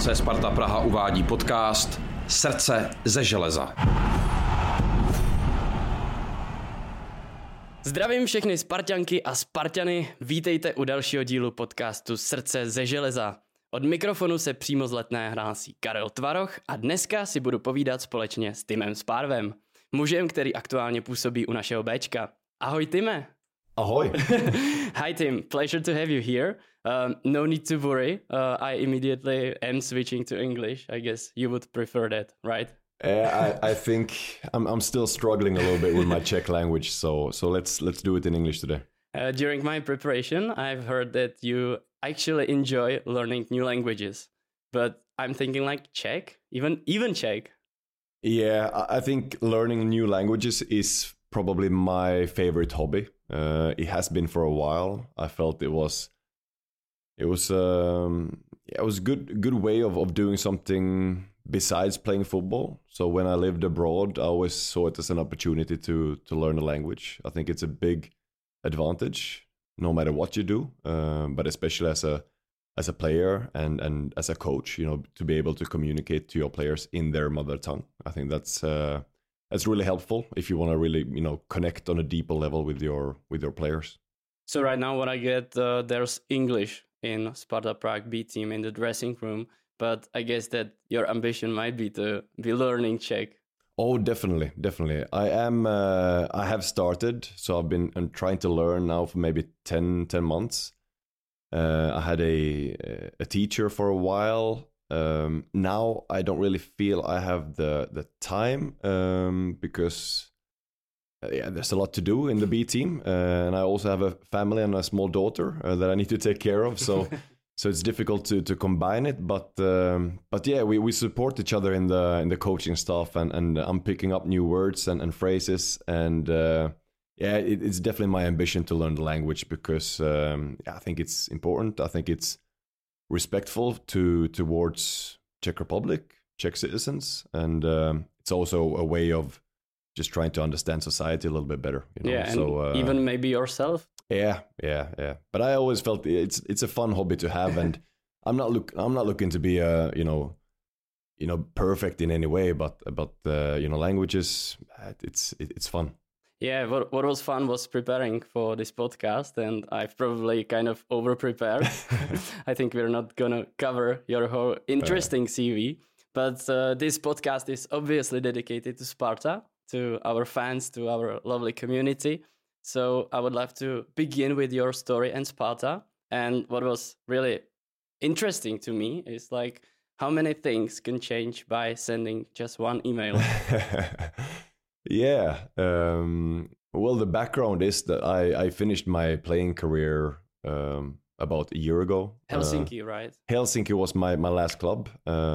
FC Sparta Praha uvádí podcast Srdce ze železa. Zdravím všechny Sparťanky a Sparťany, vítejte u dalšího dílu podcastu Srdce ze železa. Od mikrofonu se přímo z Letné hlásí Karel Tvaroch a dneska si budu povídat společně s Timem Spárvem, mužem, který aktuálně působí u našeho Bčka. Ahoj Time. Ahoy. Hi Tim, pleasure to have you here. No need to worry, I immediately am switching to English. I guess you would prefer that, right? I think I'm still struggling a little bit with my Czech language, so let's do it in English today. During my preparation, I've heard that you actually enjoy learning new languages, but I'm thinking like Czech, even Czech. Yeah, I think learning new languages is probably my favorite hobby. It has been for a while. I felt it was a good way of doing something besides playing football. So when I lived abroad, I always saw it as an opportunity to learn a language. I think it's a big advantage, no matter what you do, but especially as a player and as a coach, you know, to be able to communicate to your players in their mother tongue. I think that's really helpful if you want to really, you know, connect on a deeper level with your players. So right now what I get, there's English in Sparta Prague B team in the dressing room, but I guess that your ambition might be to be learning Czech. Oh, definitely. I have started, so I've been trying to learn now for maybe 10 months. I had a teacher for a while. Now I don't really feel I have the time because there's a lot to do in the B team, and I also have a family and a small daughter that I need to take care of. So it's difficult to combine it. But yeah, we support each other in the coaching stuff, and I'm picking up new words and phrases, and it's definitely my ambition to learn the language because I think it's important. I think it's respectful towards Czech Republic, Czech citizens, and it's also a way of just trying to understand society a little bit better. You know? Yeah, and even maybe yourself. Yeah. But I always felt it's a fun hobby to have, and I'm not looking to be perfect in any way, but languages, it's fun. Yeah, what was fun was preparing for this podcast, and I've probably kind of over-prepared. I think we're not going to cover your whole interesting CV, but this podcast is obviously dedicated to Sparta, to our fans, to our lovely community. So I would love to begin with your story and Sparta. And what was really interesting to me is like how many things can change by sending just one email. Yeah. Well, the background is that I finished my playing career about a year ago. Helsinki, right? Helsinki was my last club.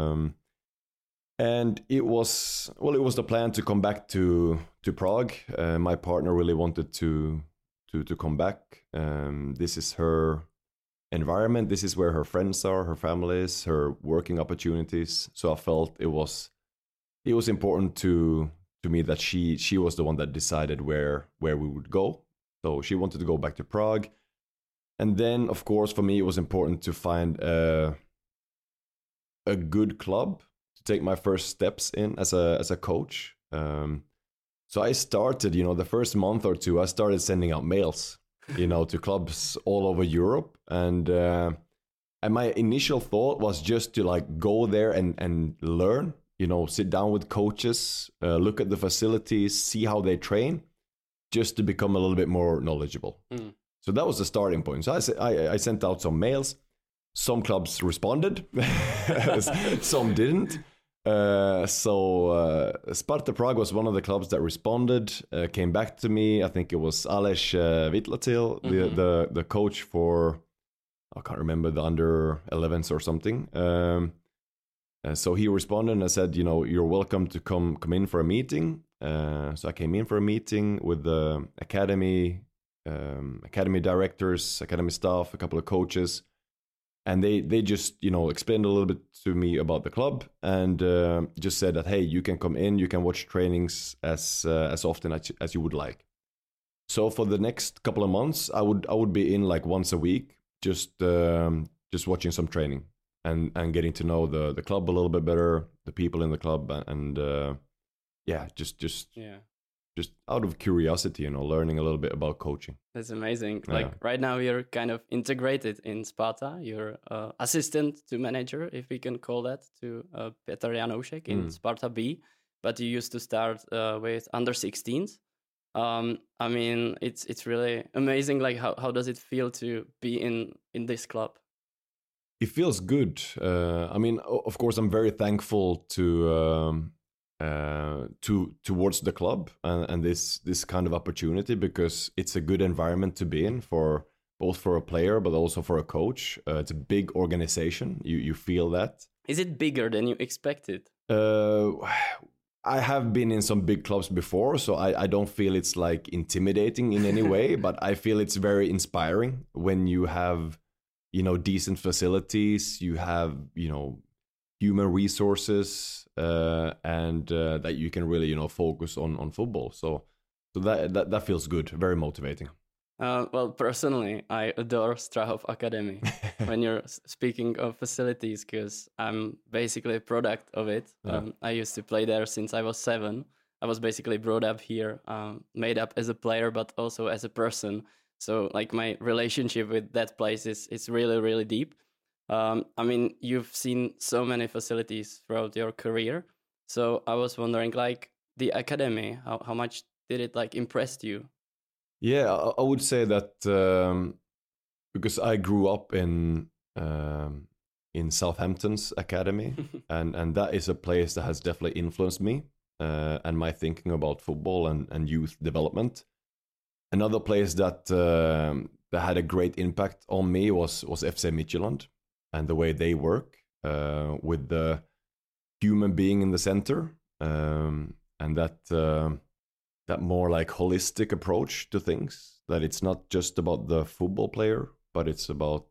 And it was the plan to come back to Prague. My partner really wanted to come back. This is her environment. This is where her friends are, her family is, her working opportunities. So I felt it was important to me that she was the one that decided where we would go. So she wanted to go back to Prague. And then, of course, for me, it was important to find a good club to take my first steps in as a coach. So I started, the first month or two, I started sending out mails, to clubs all over Europe. And my initial thought was just to like go there and learn, sit down with coaches, look at the facilities, see how they train, just to become a little bit more knowledgeable. Mm. So that was the starting point. So I sent out some mails. Some clubs responded, some didn't. So Sparta Prague was one of the clubs that responded, came back to me. I think it was Aleš Vytlatil, the coach for, I can't remember, the under 11s or something. So he responded and I said, you're welcome to come in for a meeting. So I came in for a meeting with the academy directors, academy staff, a couple of coaches. And they just, explained a little bit to me about the club and just said that, hey, you can come in, you can watch trainings as often as you would like. So for the next couple of months, I would be in like once a week, just watching some training. and getting to know the club a little bit better, the people in the club, and just out of curiosity, learning a little bit about coaching. That's amazing. Like right now you're kind of integrated in Sparta. You're assistant to manager, if we can call that, to Petr Janoušek in Sparta B. But you used to start with under 16s. I mean, it's really amazing. Like how does it feel to be in this club? It feels good. I mean, of course, I'm very thankful towards the club and this kind of opportunity, because it's a good environment to be in for both for a player but also for a coach. It's a big organization. You feel that. Is it bigger than you expected? I have been in some big clubs before, so I don't feel it's like intimidating in any way, but I feel it's very inspiring when you have, decent facilities, you have, human resources, and that you can really, focus on football. So that feels good, very motivating. Well, personally, I adore Strahov Academy when you're speaking of facilities, because I'm basically a product of it. I used to play there since I was 7. I was basically brought up here, made up as a player, but also as a person. So like my relationship with that place is really, really deep. I mean, you've seen so many facilities throughout your career. So I was wondering, like the academy, how much did it like impress you? Yeah, I would say that because I grew up in Southampton's academy, and that is a place that has definitely influenced me and my thinking about football and youth development. Another place that had a great impact on me was FC Midtjylland, and the way they work with the human being in the center, and that more like holistic approach to things, that it's not just about the football player, but it's about,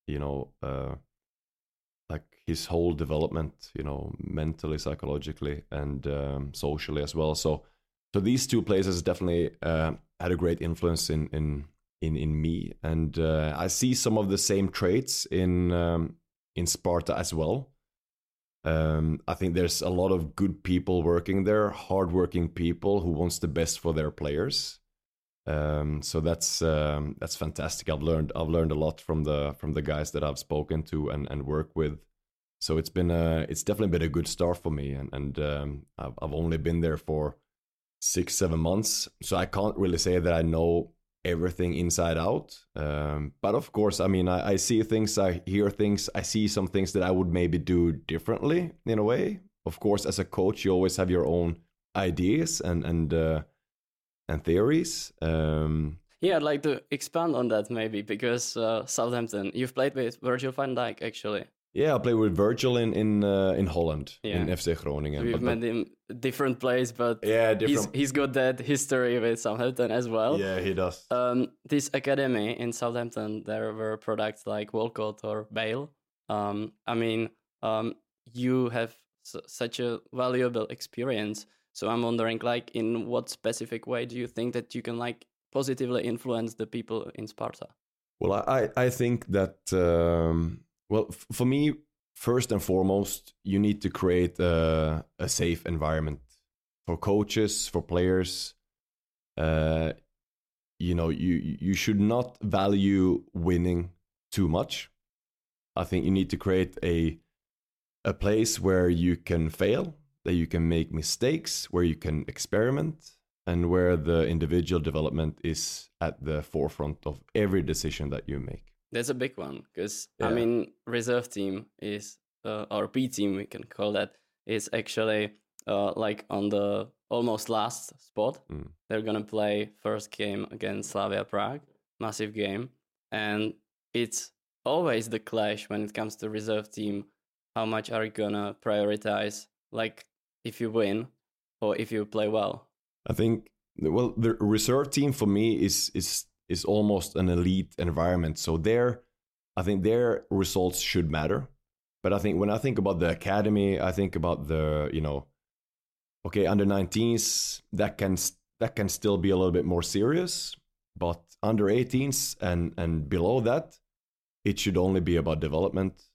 like his whole development, mentally, psychologically, and socially as well. So these two places definitely had a great influence in me. And I see some of the same traits in Sparta as well. I think there's a lot of good people working there, hardworking people who wants the best for their players. So that's fantastic. I've learned a lot from the guys that I've spoken to and worked with. So it's definitely been a good start for me. And I've only been there for 6-7 months, so I can't really say that I know everything inside out. But of course, I mean, I see things, I hear things, I see some things that I would maybe do differently in a way. Of course, as a coach, you always have your own ideas and theories. Yeah, I'd like to expand on that maybe, because Southampton, you've played with Virgil van Dijk actually. Yeah, I played with Virgil in Holland, in FC Groningen. We've met him different place, but he's got that history with Southampton as well. Yeah, he does. This academy in Southampton, there were products like Walcott or Bale. I mean, you have such a valuable experience. So I'm wondering, like, in what specific way do you think that you can like positively influence the people in Sparta? Well, I think that. Well, for me, first and foremost, you need to create a safe environment for coaches, for players. You should not value winning too much. I think you need to create a place where you can fail, that you can make mistakes, where you can experiment, and where the individual development is at the forefront of every decision that you make. That's a big one, because, I mean, reserve team is, or B team, we can call that, is actually like on the almost last spot. They're going to play first game against Slavia Prague, massive game. And it's always the clash when it comes to reserve team. How much are you going to prioritize, like, if you win or if you play well? I think, well, the reserve team for me is almost an elite environment. So I think their results should matter. But I think when I think about the academy, I think about the, under 19s, that can still be a little bit more serious. But under 18s and below that, it should only be about development.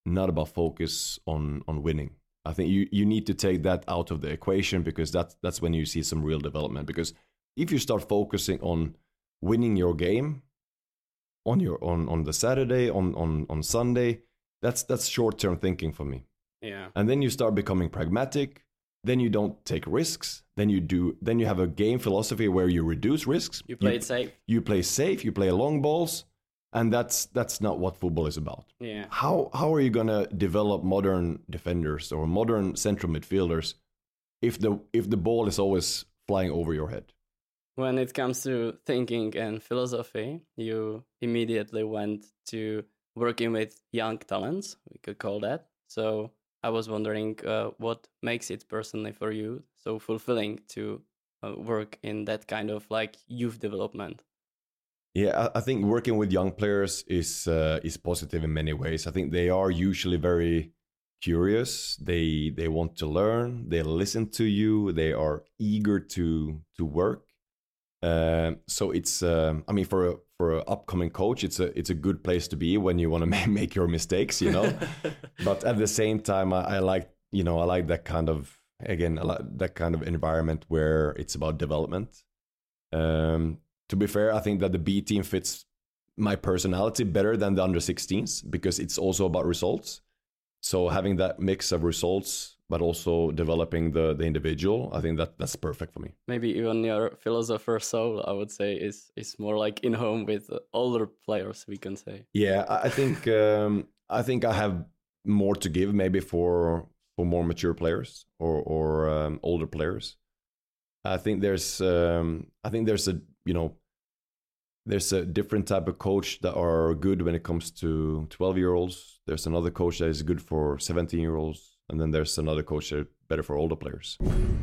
not about focus on winning. I think you need to take that out of the equation, because that's when you see some real development. Because if you start focusing on winning your game on the Saturday, on Sunday, that's short-term thinking for me. Yeah. And then you start becoming pragmatic. Then you don't take risks. Then you have a game philosophy where you reduce risks. You play it safe. You play safe. You play long balls, and that's not what football is about. Yeah. How are you gonna develop modern defenders or modern central midfielders if the ball is always flying over your head? When it comes to thinking and philosophy, you immediately went to working with young talents, we could call that. So I was wondering what makes it personally for you so fulfilling to work in that kind of like youth development. Yeah, I think working with young players is positive in many ways. I think they are usually very curious. They want to learn. They listen to you. They are eager to work. So it's I mean, for an upcoming coach, it's a good place to be when you want to make your mistakes, you know. But at the same time, I like that kind of, again, I like that kind of environment where it's about development. To be fair, I think that the B team fits my personality better than the under-16s, because it's also about results. So having that mix of results, but also developing the individual, I think that's perfect for me. Maybe even your philosopher soul, I would say, is more like in home with older players, we can say. Yeah, I think I have more to give, maybe for more mature players or older players. I think there's a different type of coach that are good when it comes to 12-year-olds. There's another coach that is good for 17-year-olds. And then there's another coach that is better for older players.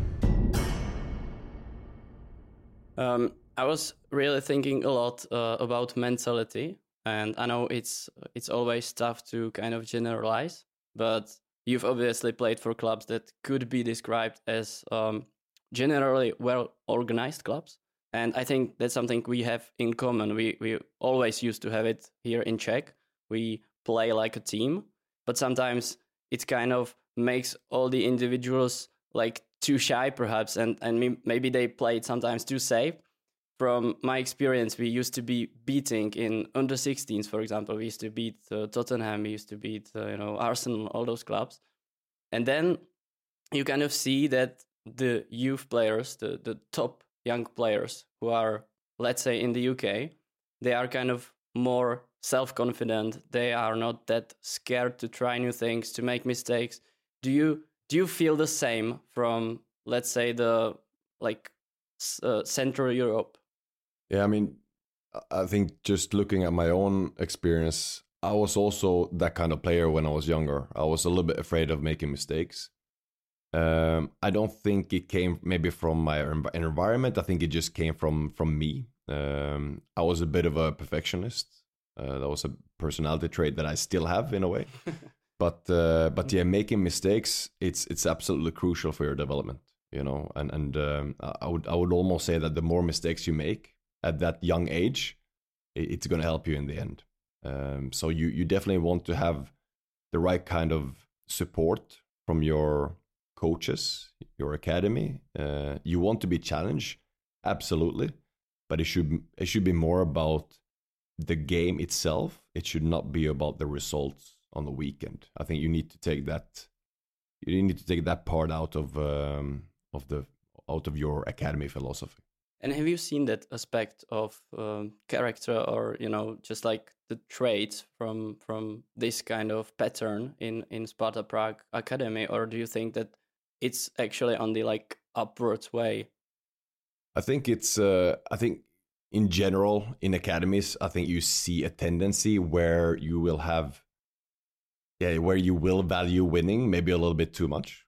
I was really thinking a lot about mentality. And I know it's always tough to kind of generalize. But you've obviously played for clubs that could be described as generally well-organized clubs. And I think that's something we have in common. We always used to have it here in Czech. We play like a team, but sometimes it kind of makes all the individuals like too shy, perhaps, and maybe they played sometimes too safe. From my experience, we used to be beating in under-16s, for example. We used to beat Tottenham, we used to beat Arsenal, all those clubs. And then you kind of see that the youth players, the top young players who are, let's say, in the UK, they are kind of more self-confident. They are not that scared to try new things, to make mistakes. Do you feel the same from, let's say, the Central Europe? Yeah, I mean, I think just looking at my own experience, I was also that kind of player when I was younger. I was a little bit afraid of making mistakes. I don't think it came maybe from my environment. I think it just came from me. I was a bit of a perfectionist. That was a personality trait that I still have in a way. But yeah, making mistakes, it's absolutely crucial for your development, you know. And I would almost say that the more mistakes you make at that young age, it's going to help you in the end. So you definitely want to have the right kind of support from your coaches, your academy. You want to be challenged, absolutely, but it should be more about the game itself. It should not be about the results on the weekend. I think you need to take that. You need to take that part out of your academy philosophy. And have you seen that aspect of character, or just like the traits from this kind of pattern in Sparta Prague Academy, or do you think that it's actually on the like upwards way? I think it's. I think in general in academies, I think you see a tendency where you will have, where you will value winning maybe a little bit too much.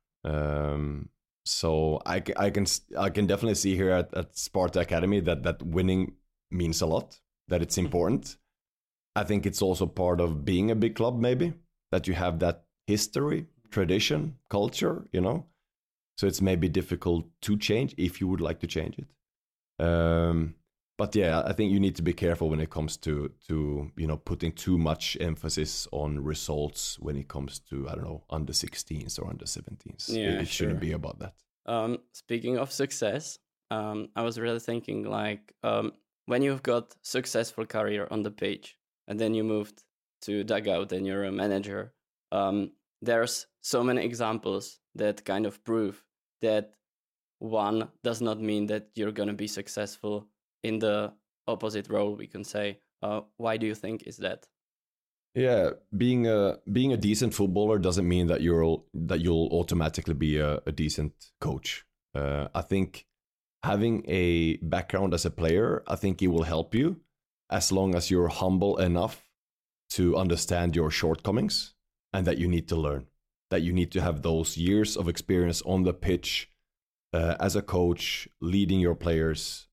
So I can definitely see here at Sparta Academy that winning means a lot, that it's important. I think it's also part of being a big club, maybe, that you have that history, tradition, culture, you know. So it's maybe difficult to change if you would like to change it. But yeah, I think you need to be careful when it comes to putting too much emphasis on results when it comes to, I don't know, under 16s or under 17s. Yeah, it shouldn't be about that. Speaking of success, I was really thinking like when you've got successful career on the page and then you moved to dugout and you're a manager, there's so many examples that kind of prove that one does not mean that you're going to be successful in the opposite role, we can say. Why do you think is that? Yeah, being a decent footballer doesn't mean that you'll automatically be a decent coach. I think having a background as a player, I think it will help you as long as you're humble enough to understand your shortcomings and that you need to learn, that you need to have those years of experience on the pitch as a coach, leading your players.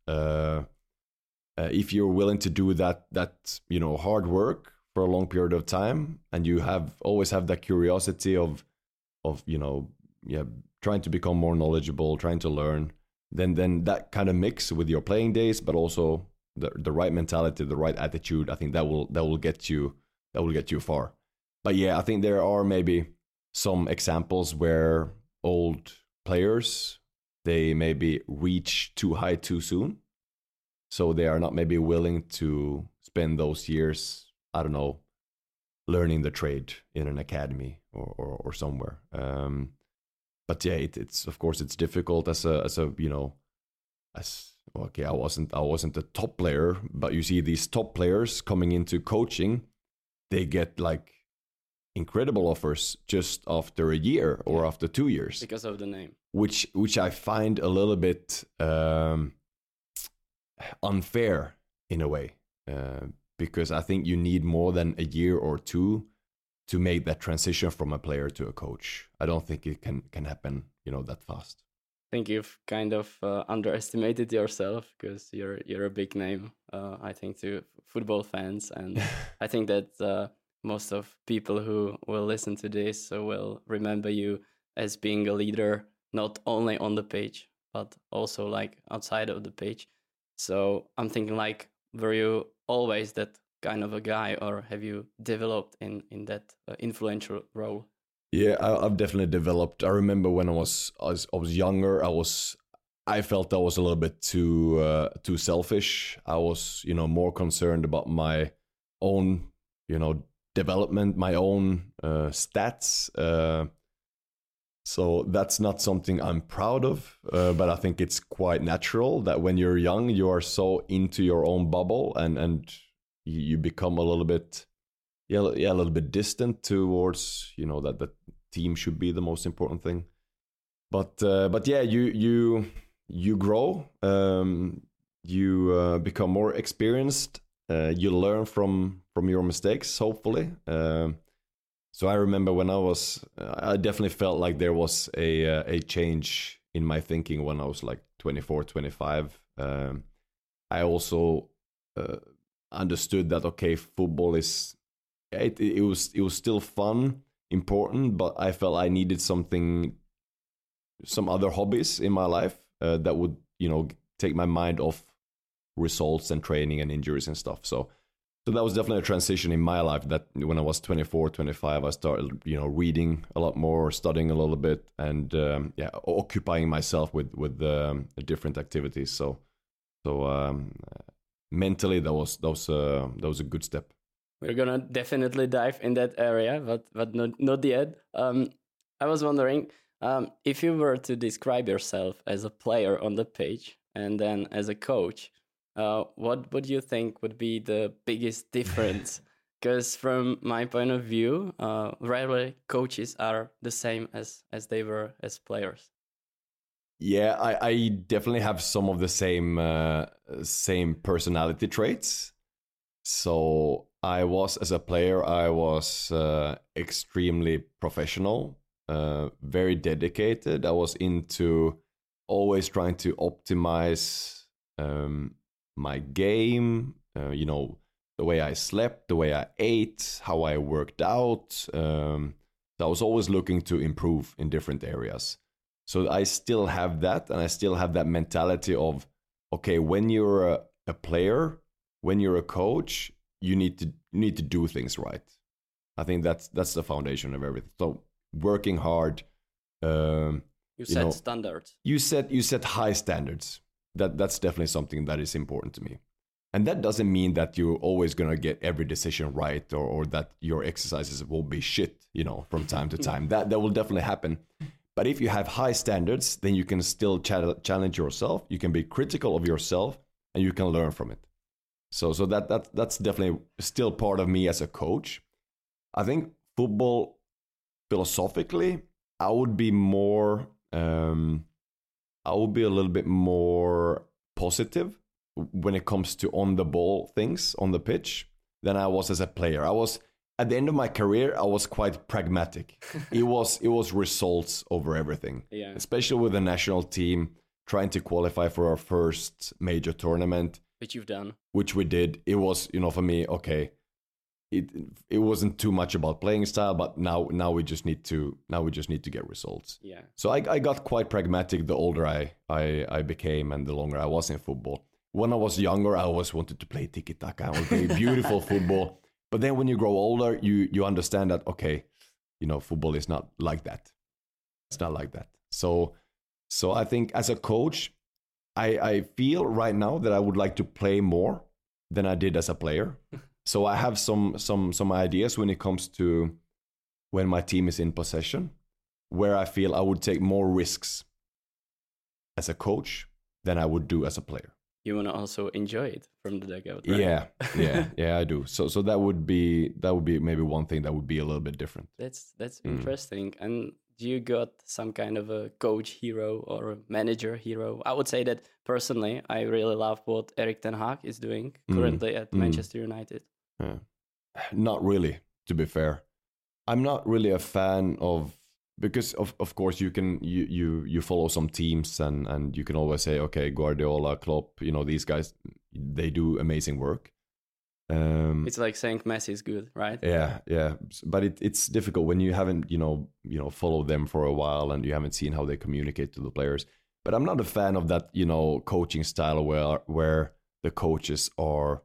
If you're willing to do that hard work for a long period of time, and you always have that curiosity of trying to become more knowledgeable, trying to learn, then that kind of mix with your playing days, but also the right mentality, the right attitude, I think that will get you far. But yeah, I think there are maybe some examples where old players, they maybe reach too high too soon. So they are not maybe willing to spend those years, I don't know, learning the trade in an academy or somewhere. But yeah, it's of course it's difficult I wasn't a top player, but you see these top players coming into coaching, they get like incredible offers just after a year or after 2 years because of the name, which I find a little bit unfair in a way, because I think you need more than a year or two to make that transition from a player to a coach. I don't think it can happen, that fast. I think you've kind of underestimated yourself because you're a big name, I think, to football fans, and I think that most of people who will listen to this will remember you as being a leader, not only on the page but also like outside of the page. So I'm thinking, like, were you always that kind of a guy, or have you developed in that influential role? Yeah, I've definitely developed. I remember when I was younger, I felt I was a little bit too selfish. I was, more concerned about my own, development, my own stats. So that's not something I'm proud of, but I think it's quite natural that when you're young, you are so into your own bubble, and you become a little bit, a little bit distant towards, that the team should be the most important thing. But yeah, you grow, you become more experienced, you learn from your mistakes, hopefully. So I remember when I definitely felt like there was a change in my thinking when I was like 24, 25. I also understood that, okay, football is, it was still fun, important, but I felt I needed some other hobbies in my life that would, take my mind off results and training and injuries and stuff. So that was definitely a transition in my life, that when I was 24, 25, I started, reading a lot more, studying a little bit, and occupying myself with different activities. So mentally, that was a good step. We're gonna definitely dive in that area, but not yet. I was wondering if you were to describe yourself as a player on the pitch and then as a coach. What would you think would be the biggest difference? Because from my point of view, rarely coaches are the same as they were as players. Yeah, I definitely have some of the same personality traits. So as a player, I was extremely professional, very dedicated. I was into always trying to optimize my game, the way I slept, the way I ate, how I worked out. So I was always looking to improve in different areas. So I still have that, and I still have that mentality of, okay, when you're a a player, when you're a coach, you need to do things right. I think that's the foundation of everything. So working hard. You set standards. You set high standards. That's definitely something that is important to me. And that doesn't mean that you're always going to get every decision right, or that your exercises will be shit, from time to time. That will definitely happen. But if you have high standards, then you can still challenge yourself. You can be critical of yourself, and you can learn from it. So that's definitely still part of me as a coach. I think football, philosophically, I would be more. I would be a little bit more positive when it comes to on the ball things on the pitch than I was as a player. I was at the end of my career, I was quite pragmatic. It was results over everything. Yeah. Especially with the national team trying to qualify for our first major tournament, which you've done. Which we did. It was, for me, okay. It wasn't too much about playing style, but now we just need to get results. Yeah. So I got quite pragmatic the older I became and the longer I was in football. When I was younger, I always wanted to play tiki-taka. I would play beautiful football. But then when you grow older, you understand that, okay, football is not like that. It's not like that. So I think as a coach, I feel right now that I would like to play more than I did as a player. So I have some ideas when it comes to when my team is in possession, where I feel I would take more risks as a coach than I would do as a player. You want to also enjoy it from the dugout, right? Yeah, I do. So that would be maybe one thing that would be a little bit different. That's interesting. And do you got some kind of a coach hero or a manager hero? I would say that personally, I really love what Erik ten Hag is doing currently at Manchester United. Yeah. Not really, to be fair. I'm not really a fan of, because of course you follow some teams and you can always say, okay, Guardiola, Klopp, these guys, they do amazing work. It's like saying Messi is good, right? Yeah. But it's difficult when you haven't, followed them for a while and you haven't seen how they communicate to the players. But I'm not a fan of that, coaching style where the coaches are,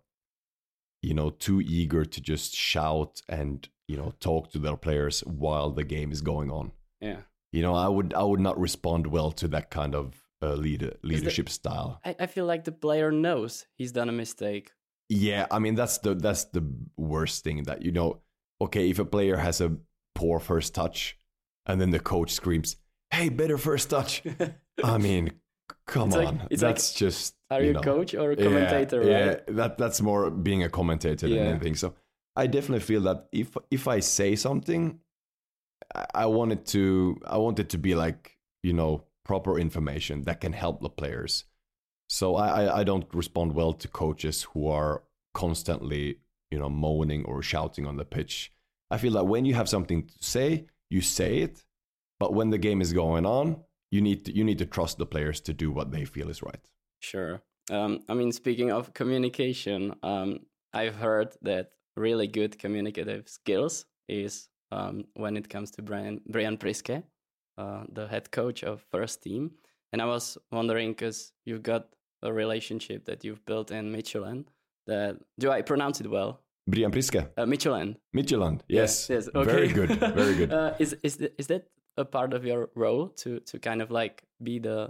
too eager to just shout and, talk to their players while the game is going on. Yeah. I would not respond well to that kind of leadership style. I feel like the player knows he's done a mistake. Yeah, I mean that's the worst thing that okay, if a player has a poor first touch and then the coach screams, "Hey, better first touch." I mean, come on. That's just are you a coach or a commentator, right? Yeah, that's more being a commentator than anything. So I definitely feel that if I say something, I want it to be like, proper information that can help the players. So I don't respond well to coaches who are constantly, moaning or shouting on the pitch. I feel like when you have something to say, you say it. But when the game is going on, you need to trust the players to do what they feel is right. Sure. Speaking of communication, I've heard that really good communicative skills is when it comes to Brian Priske, the head coach of first team. And I was wondering, because you've got a relationship that you've built in Midtjylland. Do I pronounce it well? Brian Priske? Midtjylland, yes. Yes. Okay. Very good, very good. Is that a part of your role to kind of like be the,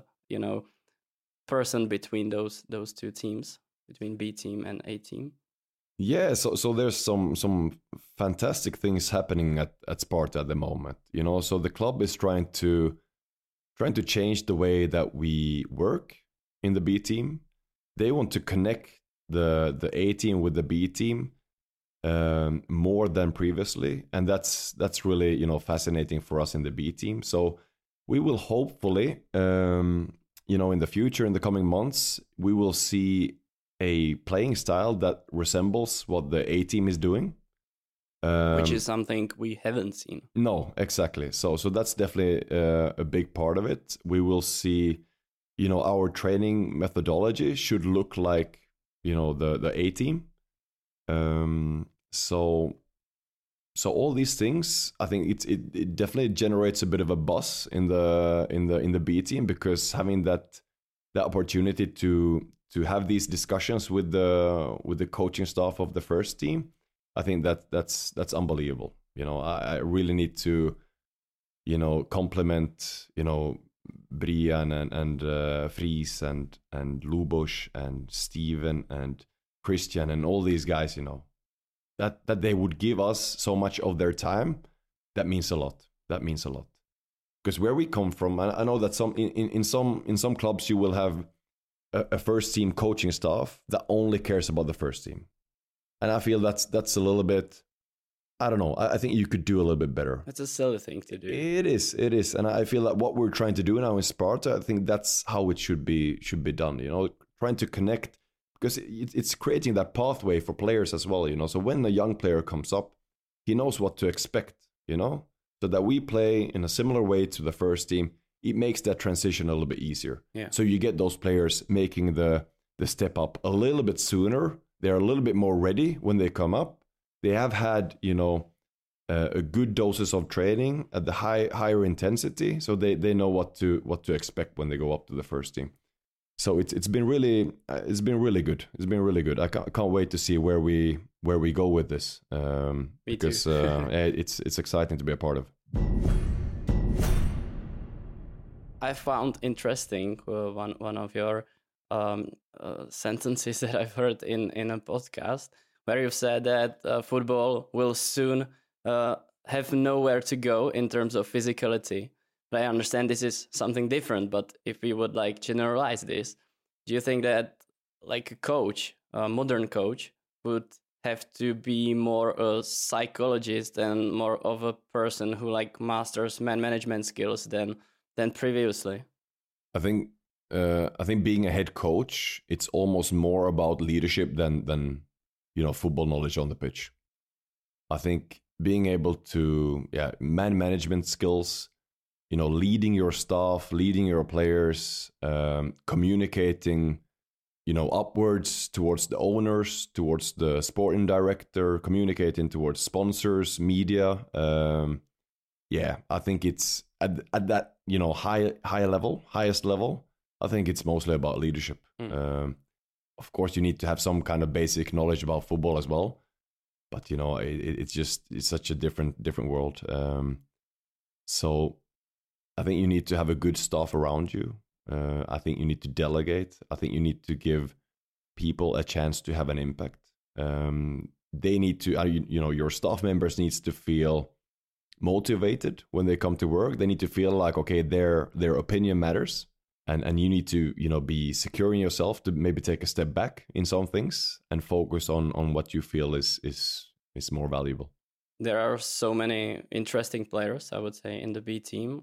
person between those two teams, between B team and A team? Yeah, so there's some fantastic things happening at Sparta at the moment. So the club is trying to change the way that we work in the B team. They want to connect the A team with the B team more than previously, and that's really fascinating for us in the B team. So we will hopefully in the future, in the coming months, we will see a playing style that resembles what the A team is doing. Which is something we haven't seen. No, exactly. So that's definitely a big part of it. We will see, our training methodology should look like, the A team. So all these things, I think it definitely generates a bit of a buzz in the B team, because having that opportunity to to have these discussions with the coaching staff of the first team, I think that's unbelievable. I really need to, compliment, Brian and Fries and Lubos and Steven and Christian and all these guys, that they would give us so much of their time. That means a lot. Because where we come from, I know that in some clubs you will have a first team coaching staff that only cares about the first team, and I feel that's a little bit. I don't know. I think you could do a little bit better. It's a silly thing to do. It is, and I feel that what we're trying to do now in Sparta, I think that's how it should be done. Trying to connect, because it's creating that pathway for players as well. So when a young player comes up, he knows what to expect. So that we play in a similar way to the first team, it makes that transition a little bit easier. Yeah. So you get those players making the step up a little bit sooner. They're a little bit more ready when they come up. They have had, a good doses of training at the higher intensity, so they know what to expect when they go up to the first team. So it's been really good. It's been really good. I can't wait to see where we go with this. Because it's exciting to be a part of. I found interesting one of your sentences that I've heard in a podcast, where you've said that football will soon have nowhere to go in terms of physicality. But I understand this is something different, but if we would generalize this, do you think that a coach, a modern coach, would have to be more a psychologist and more of a person who masters man management skills than previously? I think being a head coach, it's almost more about leadership than football knowledge on the pitch. I think being able to man management skills, leading your staff, leading your players, communicating, upwards towards the owners, towards the sporting director, communicating towards sponsors, media. I think it's at that, highest level. I think it's mostly about leadership. Of course, you need to have some kind of basic knowledge about football as well. But, it's such a different world. So I think you need to have a good staff around you. I think you need to delegate. I think you need to give people a chance to have an impact. They need to, your staff members needs to feel motivated when they come to work. They need to feel like, okay, their opinion matters. And you need to, be secure in yourself to maybe take a step back in some things and focus on what you feel is more valuable. There are so many interesting players, I would say, in the B team.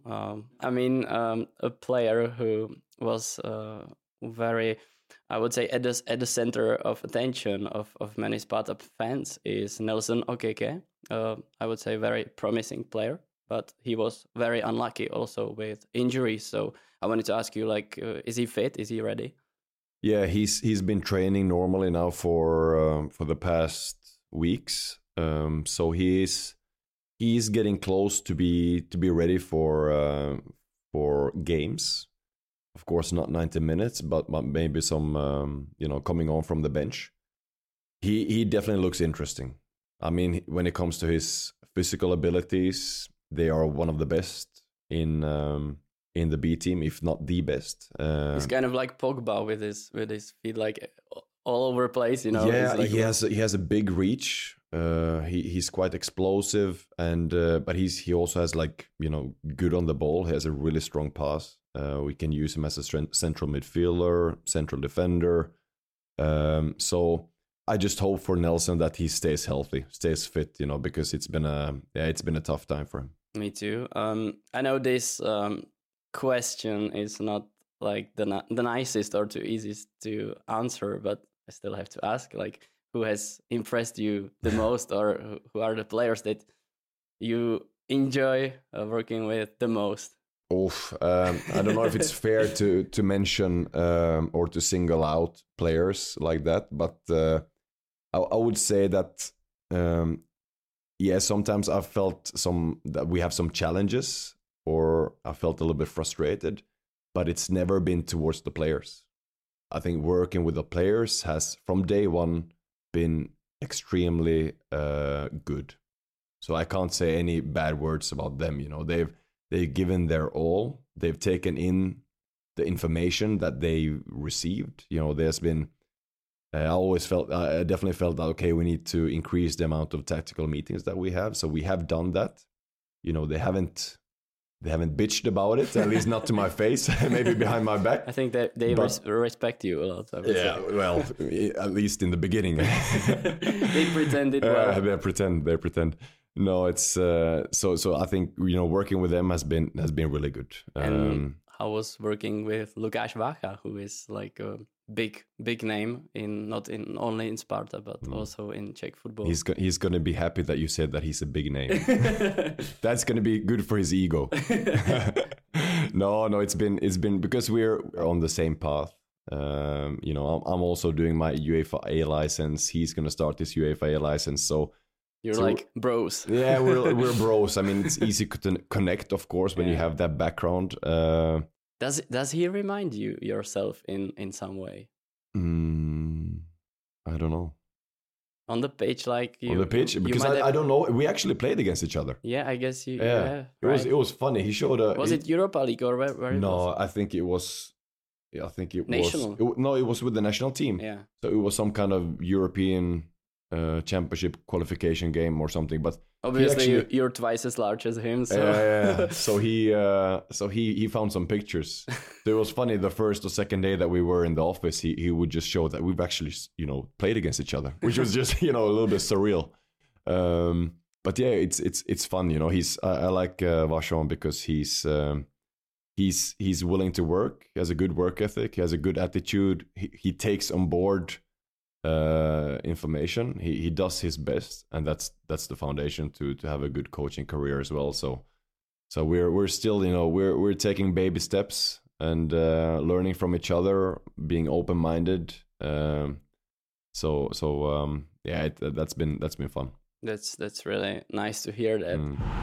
A player who was very, I would say, at the center of attention of many Sparta fans is Nelson Okeke. I would say very promising player, but he was very unlucky also with injuries. So I wanted to ask you, is he fit? Is he ready? Yeah, he's been training normally now for the past weeks. So he's getting close to be ready for games. Of course, not 90 minutes, but maybe some coming on from the bench. He definitely looks interesting. I mean, when it comes to his physical abilities, they are one of the best in the B team, if not the best. He's kind of like Pogba with his feet all over the place, Yeah, he has a big reach. He's quite explosive, and but he also has good on the ball. He has a really strong pass. We can use him as a central midfielder, central defender. So I just hope for Nelson that he stays healthy, stays fit. Because it's been a tough time for him. Me too. I know this question is not the nicest or too easiest to answer, but I still have to ask, who has impressed you the most, or who are the players that you enjoy working with the most? I don't know if it's fair to mention or to single out players like that, but I would say that sometimes I've felt that we have some challenges, or I felt a little bit frustrated, but it's never been towards the players. I think working with the players has from day one been extremely good. So I can't say any bad words about them. You know, they've given their all. They've taken in the information that they received. You know, there's been. I definitely felt that okay, we need to increase the amount of tactical meetings that we have. So we have done that. You know, they haven't bitched about it, at least not to my face, maybe behind my back. I think that they respect you a lot. I would say. Well, at least in the beginning. They pretended well. They pretend. No, it's so I think, you know, working with them has been really good. And I was working with Lukáš Vácha, who is like a big name not only in Sparta but also in Czech football. He's going to be happy that you said that he's a big name. That's going to be good for his ego. No, it's been because we're on the same path. You know, I'm also doing my UEFA A license. He's going to start his UEFA A license. So like bros. Yeah, we're bros. I mean, it's easy to connect, of course, when you have that background. Does he remind you yourself in some way? I don't know. On the pitch, like you. On the pitch, because I don't know. We actually played against each other. Yeah, I guess you. Yeah, right. It was funny. He showed a. Was it Europa League or where it was? I think it was. Yeah, I think it national. was. It was with the national team. Yeah. So it was some kind of European championship qualification game or something. But obviously, you're twice as large as him. So yeah. So he found some pictures. So it was funny. The first or second day that we were in the office, he would just show that we've actually, you know, played against each other, which was just, you know, a little bit surreal. But yeah, it's fun. You know, I like Vachon because he's willing to work. He has a good work ethic. He has a good attitude. He takes on board information. He does his best, and that's the foundation to have a good coaching career as well. So we're still, you know, we're taking baby steps and learning from each other, being open-minded. Yeah, that's been fun. That's really nice to hear that.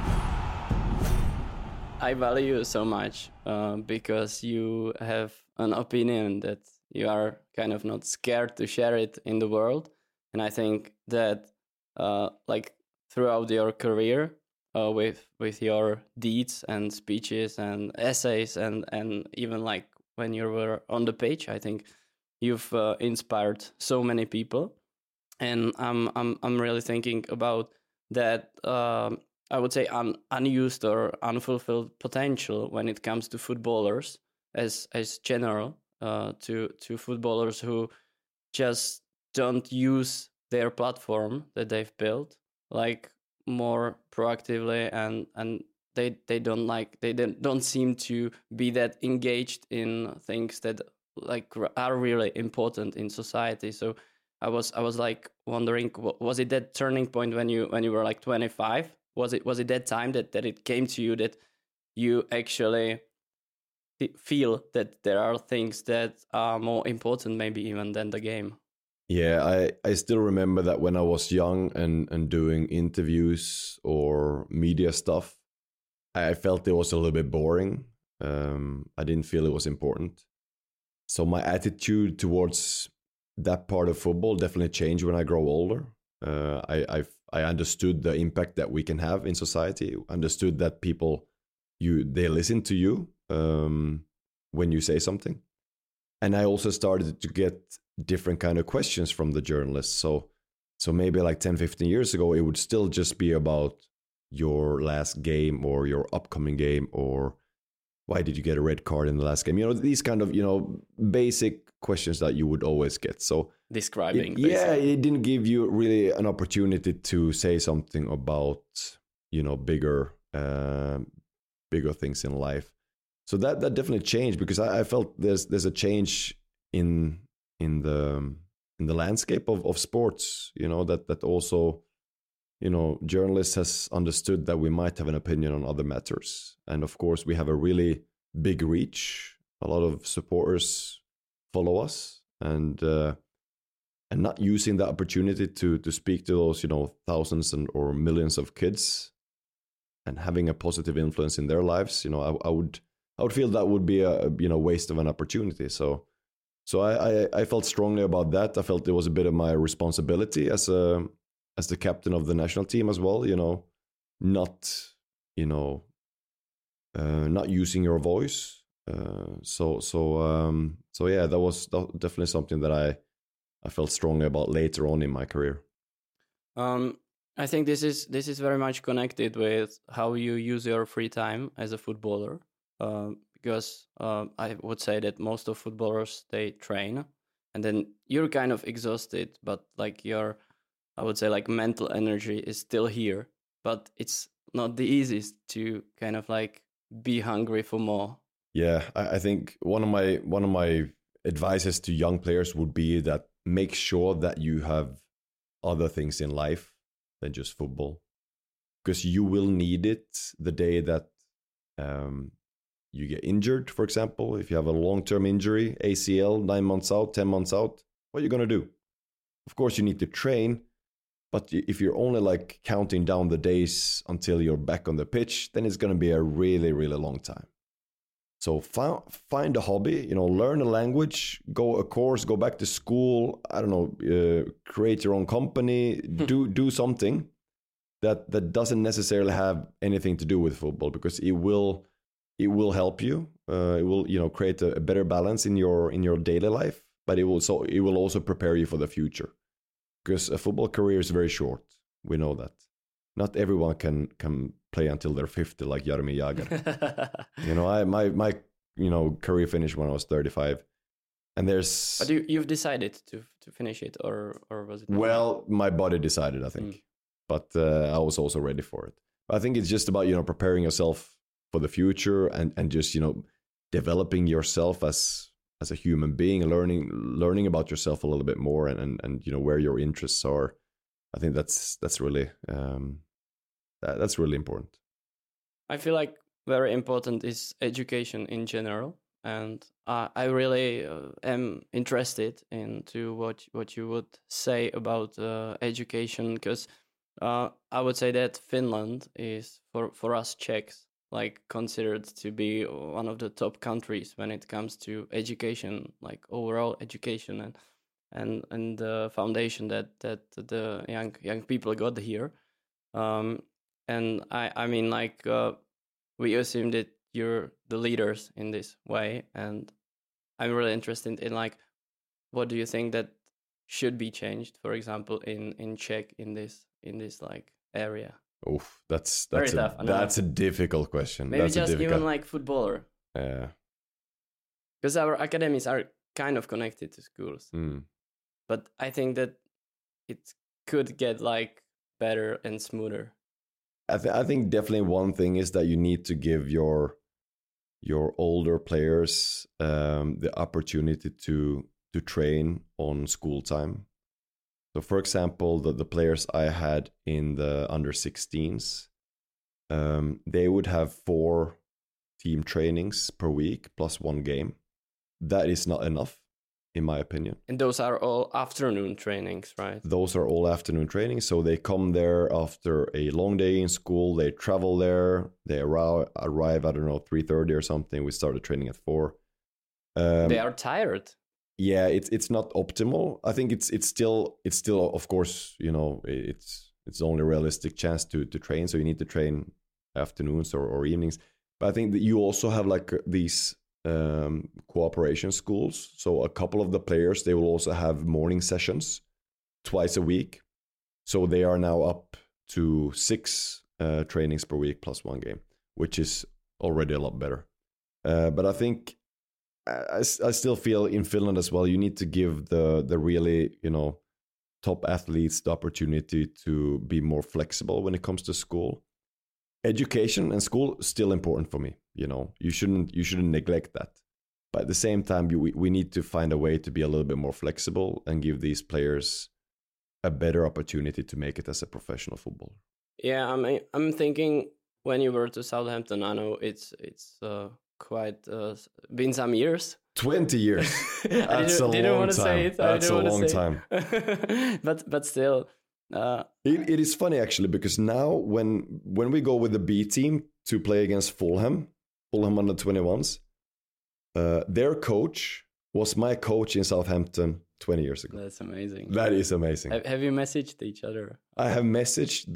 I value you so much because you have an opinion that you are kind of not scared to share it in the world. And I think that like throughout your career with your deeds and speeches and essays and even like when you were on the page, I think you've inspired so many people. And I'm really thinking about that I would say unused or unfulfilled potential when it comes to footballers as general, to footballers who just don't use their platform that they've built like more proactively, and they don't seem to be that engaged in things that like are really important in society. So I was like wondering, was it that turning point when you were like 25? Was it that time that it came to you that you actually feel that there are things that are more important maybe even than the game? Yeah, I still remember that when I was young and doing interviews or media stuff, I felt it was a little bit boring. I didn't feel it was important. So my attitude towards that part of football definitely changed when I grow older. I understood the impact that we can have in society. Understood that people, they listen to you when you say something, and I also started to get different kind of questions from the journalists. So maybe like 10, 15 years ago, it would still just be about your last game or your upcoming game, or why did you get a red card in the last game? You know, these kind of, you know, basic questions that you would always get. So describing. It didn't give you really an opportunity to say something about, you know, bigger things in life. So that definitely changed, because I felt there's a change in the landscape of sports. You know, that also, you know, journalists has understood that we might have an opinion on other matters, and of course we have a really big reach. A lot of supporters follow us, and not using that opportunity to speak to those, you know, thousands or millions of kids and having a positive influence in their lives. You know, I would feel that would be a, you know, waste of an opportunity. So So I felt strongly about that. I felt it was a bit of my responsibility as the captain of the national team as well. Not not using your voice. So yeah, that was definitely something that I felt strongly about later on in my career. I think this is very much connected with how you use your free time as a footballer. Because I would say that most of footballers, they train and then you're kind of exhausted, but like I would say like mental energy is still here, but it's not the easiest to kind of like be hungry for more. Yeah, I think one of my advices to young players would be that make sure that you have other things in life than just football, because you will need it the day that you get injured. For example, if you have a long-term injury, ACL, 9 months out, 10 months out, what are you going to do? Of course, you need to train, but if you're only like counting down the days until you're back on the pitch, then it's going to be a really, really long time. So find a hobby, learn a language, go a course, go back to school, I don't know, create your own company, do something that doesn't necessarily have anything to do with football, because it will help you. It will, create a better balance in your daily life, but it will also prepare you for the future. Because a football career is very short. We know that. Not everyone can play until they're 50, like Jaromir Jagr. My career finished when I was 35, and there's. But you've decided to finish it, or was it? Well, my body decided, I think, but I was also ready for it. But I think it's just about preparing yourself for the future and just developing yourself as a human being, learning about yourself a little bit more, and where your interests are. I think that's really that's really important. I feel like very important is education in general, and I really am interested into what you would say about education, because I would say that Finland is for us Czechs like considered to be one of the top countries when it comes to education, like overall education and the foundation that the young people got here. And I mean, like, we assume that you're the leaders in this way, and I'm really interested in, like, what do you think that should be changed, for example, in Czech in this like area? Oof, that's very tough. That's a difficult question. Maybe that's just even like footballer. Yeah. Because our academies are kind of connected to schools. But I think that it could get like better and smoother. I think definitely one thing is that you need to give your older players the opportunity to train on school time. So, for example, the players I had in the under 16s, they would have 4 team trainings per week plus 1 game. That is not enough, in my opinion. And those are all afternoon trainings, right? Those are all afternoon trainings. So they come there after a long day in school. They travel there. They arrive, I don't know, 3:30 or something. We started training at 4. They are tired. Yeah, it's not optimal. I think it's still of course, it's only a realistic chance to train. So you need to train afternoons or evenings. But I think that you also have like these cooperation schools. So a couple of the players, they will also have morning sessions twice a week. So they are now up to 6 trainings per week plus 1 game, which is already a lot better. But I think I still feel in Finland as well, you need to give the really, top athletes the opportunity to be more flexible when it comes to school. Education and school still important for me. You shouldn't neglect that. But at the same time, we need to find a way to be a little bit more flexible and give these players a better opportunity to make it as a professional footballer. Yeah, I'm thinking when you were to Southampton, I know it's quite been some years. 20 years. That's a long time. That's a long time. But still. It is funny actually, because now when we go with the B team to play against Fulham under 21s, their coach was my coach in Southampton 20 years ago. That's amazing. That is amazing. Have you messaged each other? I have messaged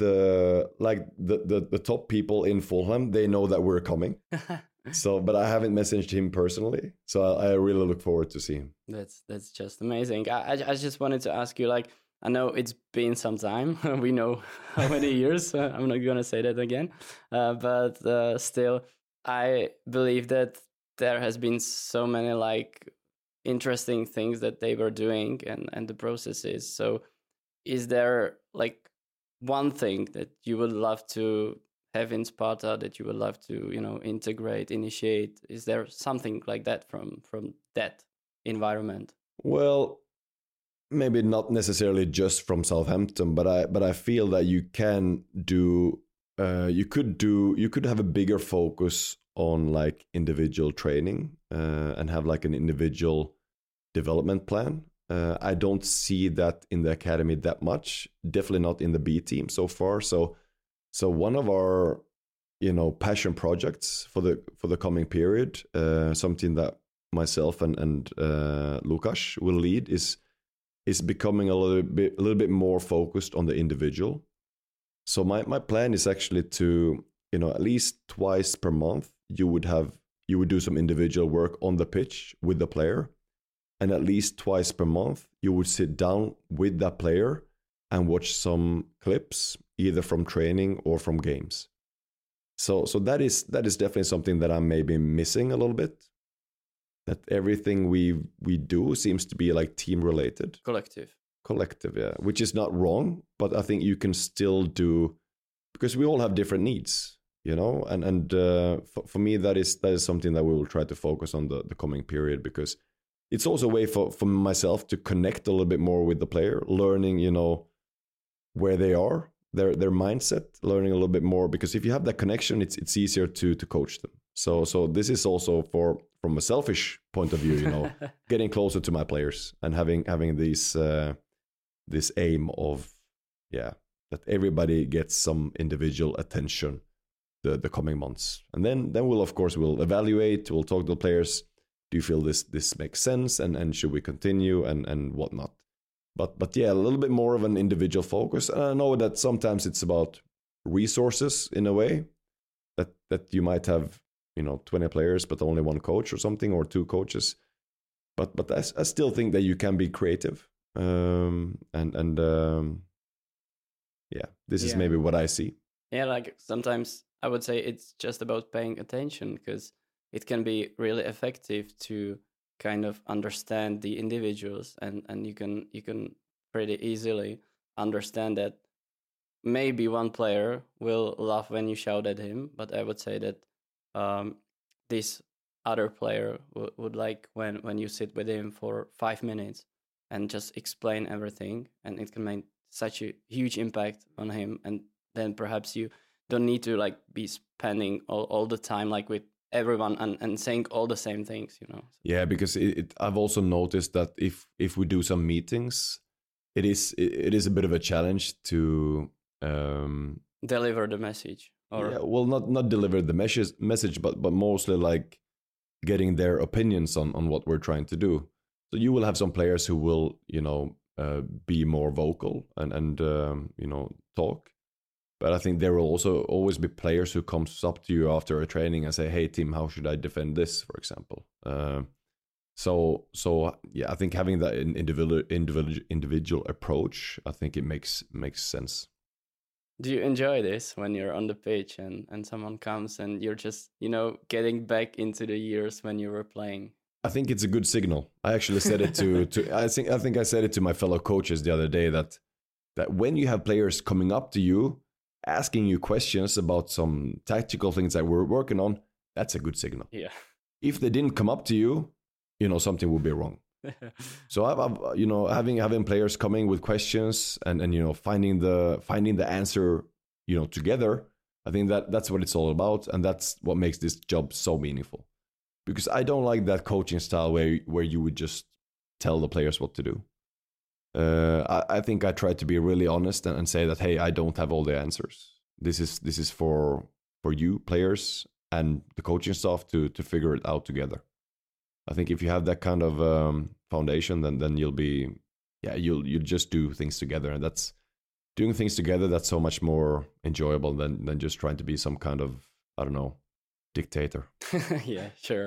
the top people in Fulham. They know that we're coming. So, but I haven't messaged him personally. So I really look forward to see him. That's just amazing. I just wanted to ask you, like, I know it's been some time. We know how many years. I'm not going to say that again. But still, I believe that there has been so many, like, interesting things that they were doing and the processes. So is there, like, one thing that you would love to have in Sparta that you would love to, integrate, initiate? Is there something like that from that environment? Well, maybe not necessarily just from Southampton, but I feel that you can do you could have a bigger focus on like individual training and have like an individual development plan. I don't see that in the academy that much. Definitely not in the B team so far. So one of our passion projects for the coming period, something that myself and Lukas will lead is becoming a little bit more focused on the individual. So my plan is actually to at least twice per month you would do some individual work on the pitch with the player, and at least twice per month you would sit down with that player and watch some clips either from training or from games. So that is definitely something that I'm maybe missing a little bit. That everything we do seems to be like team related. Collective, yeah. Which is not wrong, but I think you can still do, because we all have different needs, and for me that is something that we will try to focus on the coming period, because it's also a way for myself to connect a little bit more with the player, learning, where they are, their mindset, learning a little bit more, because if you have that connection, it's easier to coach them. So this is also from a selfish point of view, getting closer to my players and having this aim of that everybody gets some individual attention the coming months. And then we'll evaluate, we'll talk to the players. Do you feel this makes sense, and should we continue and whatnot? But yeah, a little bit more of an individual focus. And I know that sometimes it's about resources in a way, that you might have 20 players but only one coach or something, or two coaches. But I still think that you can be creative. This is maybe what I see. Yeah, like sometimes I would say it's just about paying attention, because it can be really effective to kind of understand the individuals, and you can pretty easily understand that maybe one player will laugh when you shout at him, but I would say that this other player would like when you sit with him for 5 minutes and just explain everything, and it can make such a huge impact on him. And then perhaps you don't need to like be spending all the time like with everyone and saying all the same things, Yeah, because I've also noticed that if we do some meetings, it is a bit of a challenge to deliver the message. Not deliver the message, but mostly like getting their opinions on what we're trying to do. So you will have some players who will be more vocal and talk. But I think there will also always be players who comes up to you after a training and say, "Hey Tim, how should I defend this?" for example. So yeah, I think having that individual approach, I think it makes sense. Do you enjoy this when you're on the pitch and someone comes and you're just, getting back into the years when you were playing? I think it's a good signal. I actually said it to I think I said it to my fellow coaches the other day that when you have players coming up to you, asking you questions about some tactical things that we're working on, that's a good signal. Yeah. If they didn't come up to you, something would be wrong. So I've having players coming with questions and finding the answer together. I think that's what it's all about, and that's what makes this job so meaningful. Because I don't like that coaching style where you would just tell the players what to do. I think I try to be really honest and say that, hey, I don't have all the answers. This is for you players and the coaching staff to figure it out together. I think if you have that kind of foundation, then you'll be, you'll just do things together, and that's doing things together. That's so much more enjoyable than just trying to be some kind of, I don't know, dictator. Yeah, sure.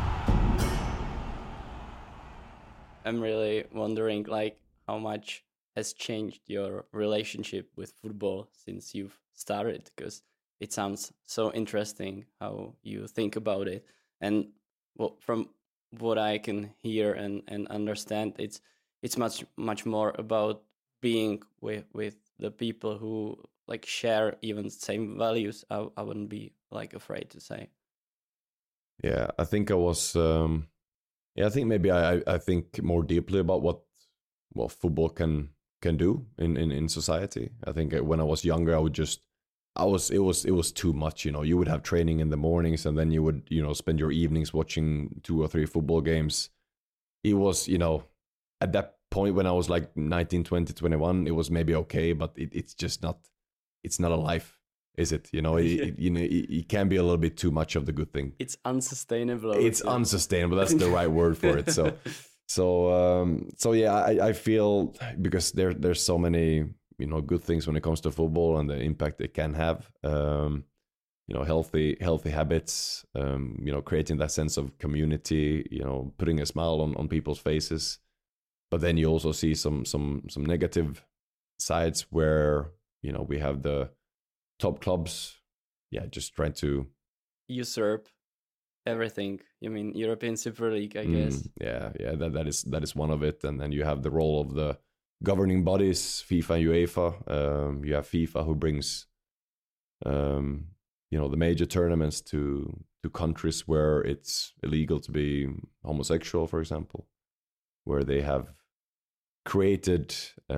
I'm really wondering, like, how much has changed your relationship with football since you've started, because it sounds so interesting how you think about it. And well, from what I can hear and understand, it's much more about being with the people who like share even same values. I wouldn't be like afraid to say. Yeah, I think I was. I think maybe I think more deeply about what football can do in society. I think when I was younger, it was too much. You know, you would have training in the mornings, and then you would spend your evenings watching 2 or 3 football games. It was at that point when I was like 19, 20, 21, it was maybe okay, but it's just not. It's not a life, is it? It can be a little bit too much of the good thing. It's unsustainable. It's unsustainable. That's the right word for it. So yeah, I feel, because there's so many good things when it comes to football and the impact it can have. Healthy habits. Creating that sense of community. Putting a smile on people's faces. But then you also see some negative sides where we have the top clubs, just trying to usurp everything. You mean European Super League, I guess. That is one of it. And then you have the role of the governing bodies, FIFA and UEFA. You have FIFA, who brings the major tournaments to countries where it's illegal to be homosexual, for example, where they have created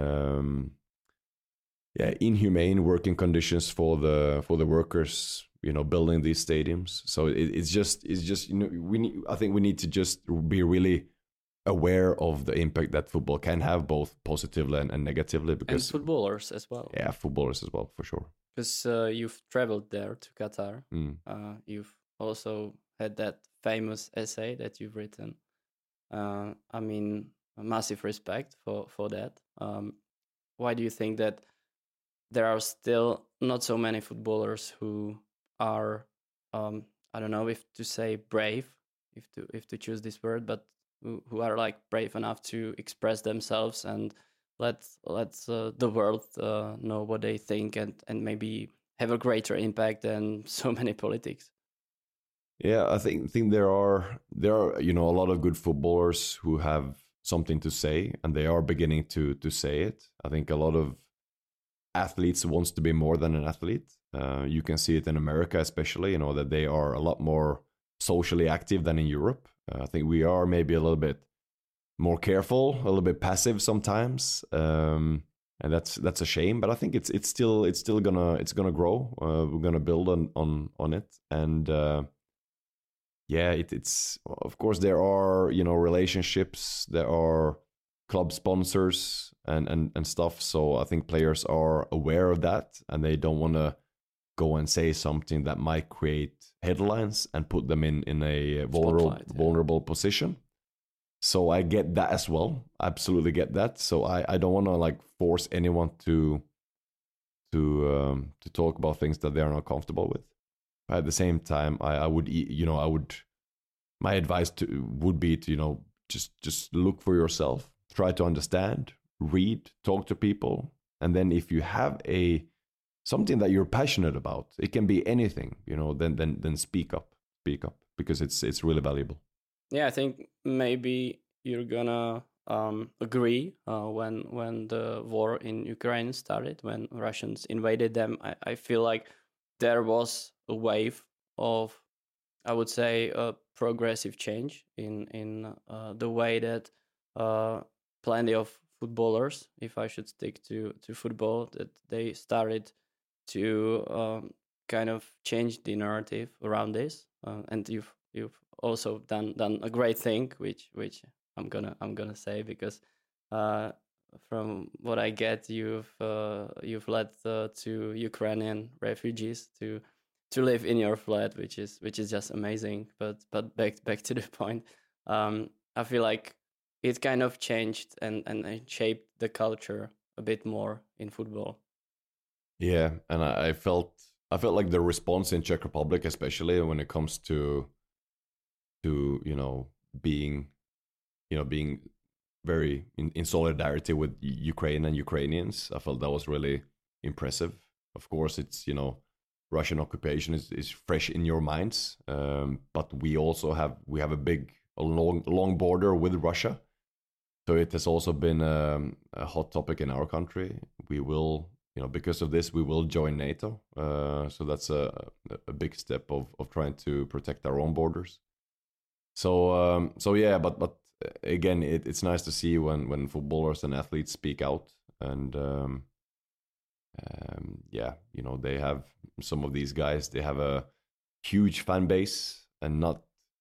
inhumane working conditions for the workers, building these stadiums. So it's just I think we need to just be really aware of the impact that football can have, both positively and negatively. Because and footballers as well. Yeah, footballers as well, for sure. Because you've traveled there to Qatar. You've also had that famous essay that you've written. I mean, massive respect for that. Why do you think that there are still not so many footballers who are, I don't know if to say brave, if to choose this word, but who are like brave enough to express themselves and let the world know what they think and maybe have a greater impact than so many politics? Yeah, I think there are a lot of good footballers who have something to say, and they are beginning to say it. I think a lot of athletes wants to be more than an athlete. You can see it in America, especially, that they are a lot more socially active than in Europe. I think we are maybe a little bit more careful, a little bit passive sometimes, and that's a shame. But I think it's still gonna grow. We're gonna build on it, and it's of course there are relationships, there are club sponsors and stuff. So I think players are aware of that, and they don't want to go and say something that might create headlines and put them in a vulnerable position. So I get that as well. Absolutely get that. So I don't want to like force anyone to talk about things that they are not comfortable with. But at the same time, I would my advice would be to just look for yourself, try to understand, read, talk to people, and then if you have something that you're passionate about, it can be anything, then speak up, because it's really valuable. Yeah, I think maybe you're gonna agree when the war in Ukraine started, when Russians invaded them. I feel like there was a wave of, I would say, a progressive change in the way that plenty of footballers, if I should stick to football, that they started to kind of change the narrative around this. And you've also done a great thing, which I'm gonna say, because from what I get, you've led to Ukrainian refugees to live in your flat, which is just amazing. But back to the point. I feel like it kind of changed and it shaped the culture a bit more in football. Yeah, and I felt like the response in Czech Republic, especially when it comes to being being very in solidarity with Ukraine and Ukrainians. I felt that was really impressive. Of course, it's Russian occupation is fresh in your minds, but we also have a long border with Russia, so it has also been a hot topic in our country. We will, because of this, we will join NATO. So that's a big step of trying to protect our own borders. So yeah, but again, it's nice to see when footballers and athletes speak out, and yeah, they have some of these guys. They have a huge fan base, and not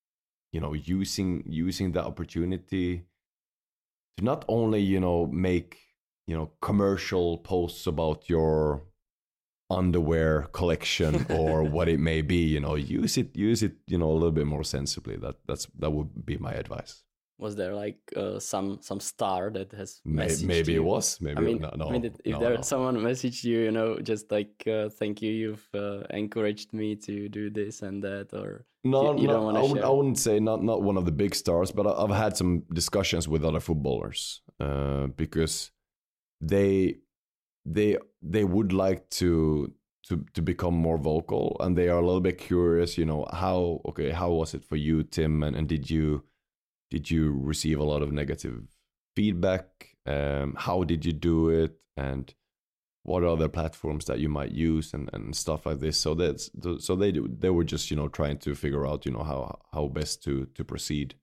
using the opportunity to not only make commercial posts about your underwear collection or what it may be. Use it a little bit more sensibly. That would be my advice. Was there like some star that has messaged maybe you? It was. Maybe I mean, no. If someone messaged you, just like thank you, you've encouraged me to do this and that, or you don't want to share? I wouldn't say not one of the big stars, but I've had some discussions with other footballers because they would like to become more vocal, and they are a little bit curious. How was it for you, Tim, and did you receive a lot of negative feedback? How did you do it? And what other platforms that you might use and stuff like this? So they were just trying to figure out how best to proceed.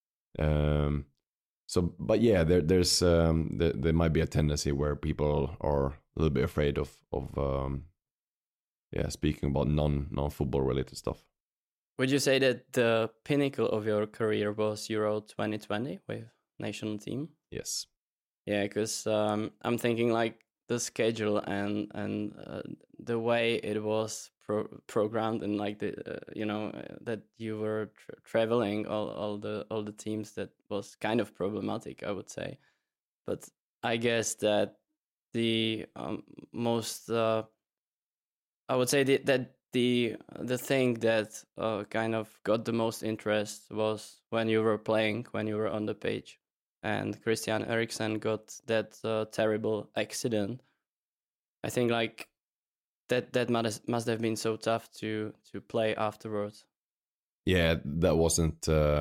But yeah, there might be a tendency where people are a little bit afraid of speaking about non-football related stuff. Would you say that the pinnacle of your career was Euro 2020 with national team? Yes. Yeah, because I'm thinking like the schedule and the way it was programmed, and like the that you were traveling all the teams, that was kind of problematic, I would say. But I guess that the most I would say that the thing that kind of got the most interest was when you were playing, when you were on the pitch, and Christian Eriksen got that terrible accident. I think like that must have been so tough to play afterwards. Yeah, that wasn't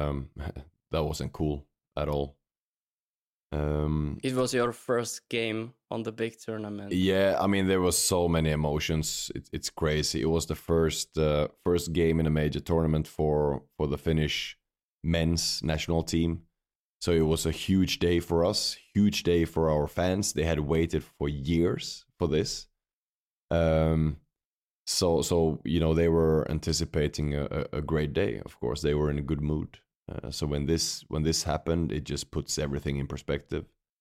cool at all. It was your first game on the big tournament. Yeah, I mean there was so many emotions. It's crazy. It was the first game in a major tournament for the Finnish men's national team. So it was a huge day for us, huge day for our fans. They had waited for years for this. So they were anticipating a great day. Of course, they were in a good mood. So when this happened, it just puts everything in perspective.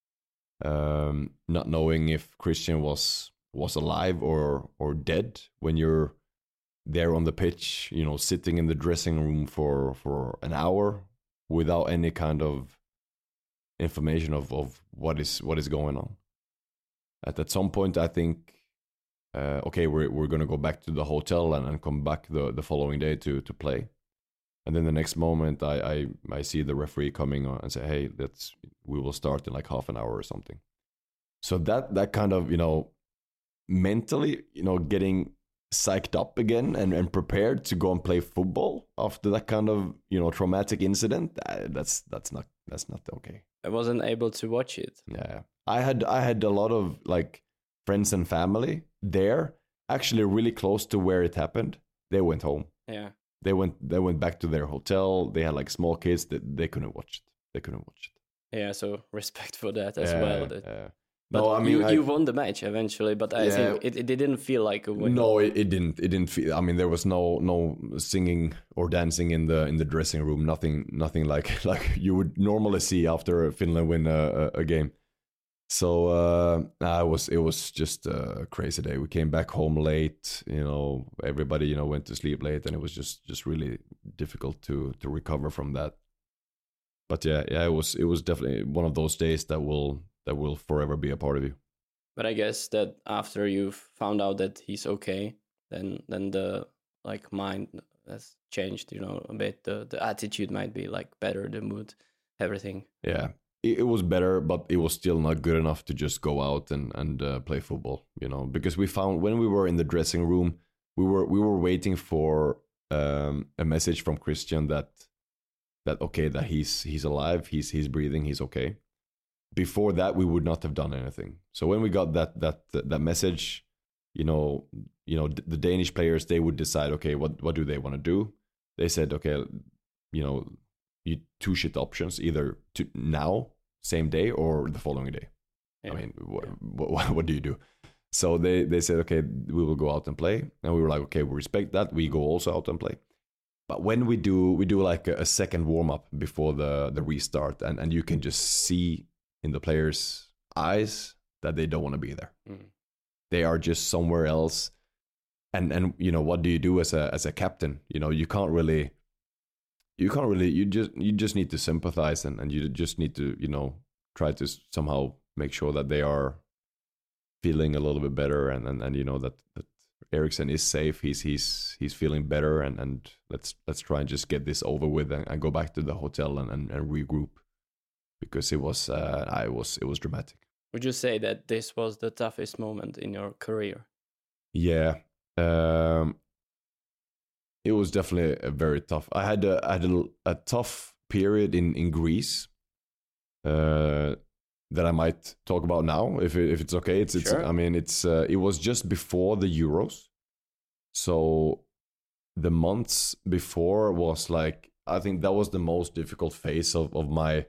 Not knowing if Christian was alive or dead when you're there on the pitch, sitting in the dressing room for an hour without any kind of information of what is going on. At some point, I think, okay, we're gonna go back to the hotel and come back the following day to play. And then the next moment, I see the referee coming on and say, "Hey, we will start in like half an hour or something." So that kind of mentally getting psyched up again and prepared to go and play football after that kind of traumatic incident. That's not okay. I wasn't able to watch it. Yeah, I had a lot of like friends and family there, actually really close to where it happened. They went home. Yeah. They went back to their hotel. They had like small kids that they couldn't watch it. Yeah, so respect for that as well. No, I mean you won the match eventually, but I think it didn't feel like a win. No, it didn't. It didn't feel. I mean, there was no singing or dancing in the dressing room. Nothing like you would normally see after Finland win a game. So it was just a crazy day. We came back home late. Everybody went to sleep late, and it was just really difficult to recover from that. But yeah, it was definitely one of those days that will forever be a part of you. But I guess that after you've found out that he's okay, then the like mind has changed, a bit. The attitude might be like better, the mood, everything. Yeah, it was better, but it was still not good enough to just go out and play football, because we found when we were in the dressing room, we were waiting for a message from Christian that okay, that he's alive, he's breathing, he's okay. Before that, we would not have done anything. So when we got that message, the Danish players, they would decide, okay, what do they want to do? They said, okay, you two shit options, either now, same day, or the following day. Yeah. I mean, what do you do? So they said, okay, we will go out and play, and we were like, okay, we respect that. We go also out and play. But when we do like a second warm up before the restart, and you can just see in the players' eyes that they don't want to be there. Mm. They are just somewhere else. And what do you do as a captain? You can't really you just need to sympathize and you just need to try to somehow make sure that they are feeling a little bit better and that Eriksen is safe. He's feeling better and let's try and just get this over with and go back to the hotel and regroup, because it was dramatic. Would you say that this was the toughest moment in your career? Yeah. It was definitely a very tough. I had a tough period in Greece that I might talk about now, if it's okay. Sure. I mean, it was just before the Euros, so the months before was like, I think that was the most difficult phase of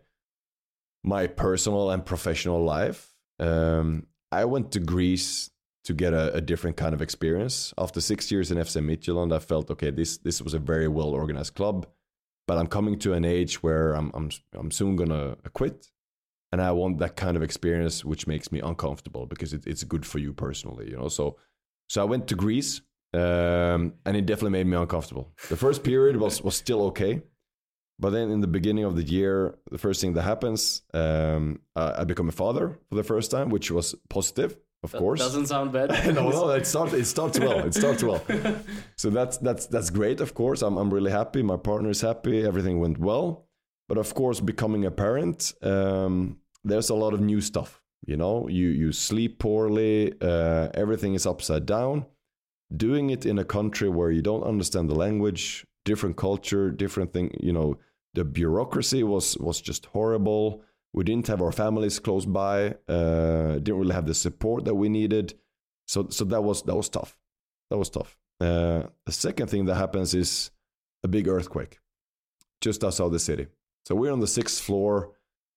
my personal and professional life. I went to Greece to get a different kind of experience. After 6 years in FC Midtjylland, I felt, okay, this was a very well organized club, but I'm coming to an age where I'm soon gonna quit, and I want that kind of experience which makes me uncomfortable because it's good for you personally, So I went to Greece, and it definitely made me uncomfortable. The first period was still okay, but then in the beginning of the year, the first thing that happens, I become a father for the first time, which was positive. Of course, doesn't sound bad. no, it starts well. It starts well. So that's great. Of course, I'm really happy. My partner is happy. Everything went well. But of course, becoming a parent, there's a lot of new stuff. You sleep poorly. Everything is upside down. Doing it in a country where you don't understand the language, different culture, different thing. The bureaucracy was just horrible. We didn't have our families close by. Didn't really have the support that we needed. So that was tough. That was tough. The second thing that happens is a big earthquake just outside the city. So we're on the 6th floor.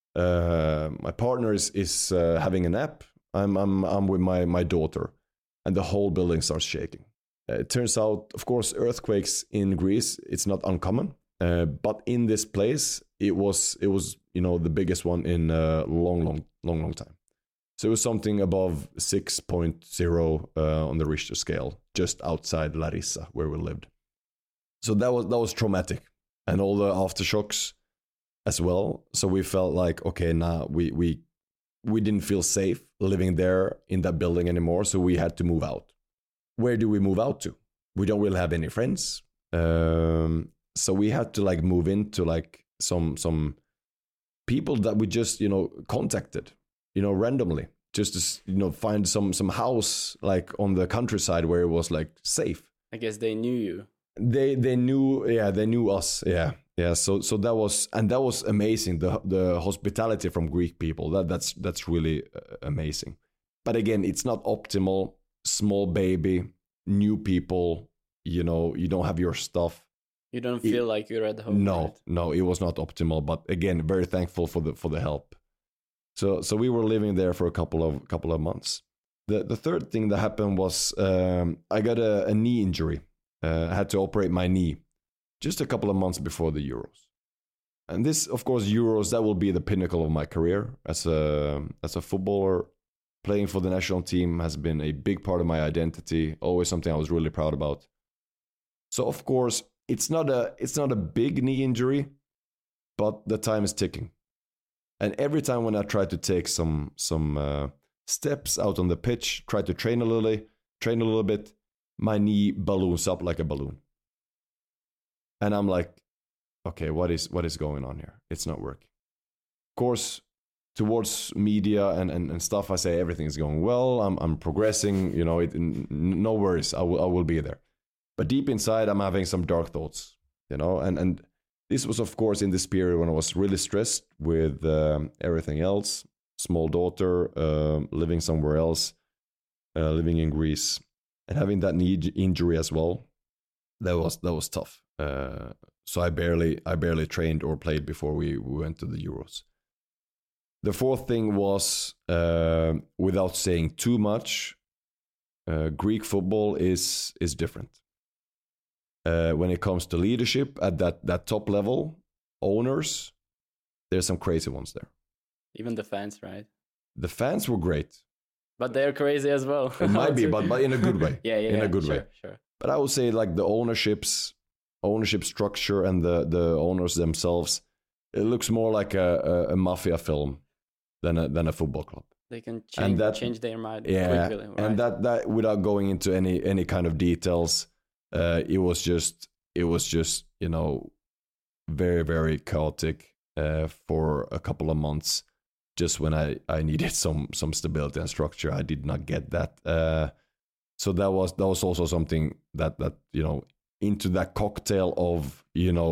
My partner is having a nap. I'm with my daughter, and the whole building starts shaking. It turns out, of course, earthquakes in Greece, it's not uncommon. But in this place, it was the biggest one in a long time. So it was something above 6.0 on the Richter scale, just outside Larissa, where we lived. So that was traumatic, and all the aftershocks as well. So we felt like, okay, now we didn't feel safe living there in that building anymore. So we had to move out. Where do we move out to? We don't really have any friends. So we had to move into some people that we just contacted randomly, just to find some house on the countryside where it was safe. I guess they knew you. They knew us. Yeah. So that was amazing. The hospitality from Greek people, that's really amazing. But again, it's not optimal. Small baby, new people. You don't have your stuff. You don't feel like you're at home. No, it was not optimal. But again, very thankful for the help. So we were living there for a couple of months. The third thing that happened was I got a knee injury. I had to operate my knee just a couple of months before the Euros. And this, of course, Euros, that will be the pinnacle of my career as a footballer. Playing for the national team has been a big part of my identity. Always something I was really proud about. So of course, it's not a big knee injury, but the time is ticking. And every time when I try to take some steps out on the pitch, try to train a little bit, my knee balloons up like a balloon. And I'm like, okay, what is going on here? It's not working. Of course, towards media and stuff, I say everything is going well. I'm progressing. No worries. I will be there. But deep inside, I'm having some dark thoughts. And this was, of course, in this period when I was really stressed with everything else. Small daughter, living somewhere else, living in Greece, and having that knee injury as well. That was tough. So I barely trained or played before we went to the Euros. The fourth thing was, without saying too much, Greek football is different. When it comes to leadership at that top level, owners, there's some crazy ones there. Even the fans, right? The fans were great. But they're crazy as well. It might be, but in a good way. Yeah, in a good way. Sure. But I would say like the ownership structure and the owners themselves, it looks more like a mafia film than a football club. They can change their mind quickly. Right? And that without going into any kind of details, it was just very, very chaotic for a couple of months. Just when I needed some stability and structure, I did not get that. So that was also something that into that cocktail of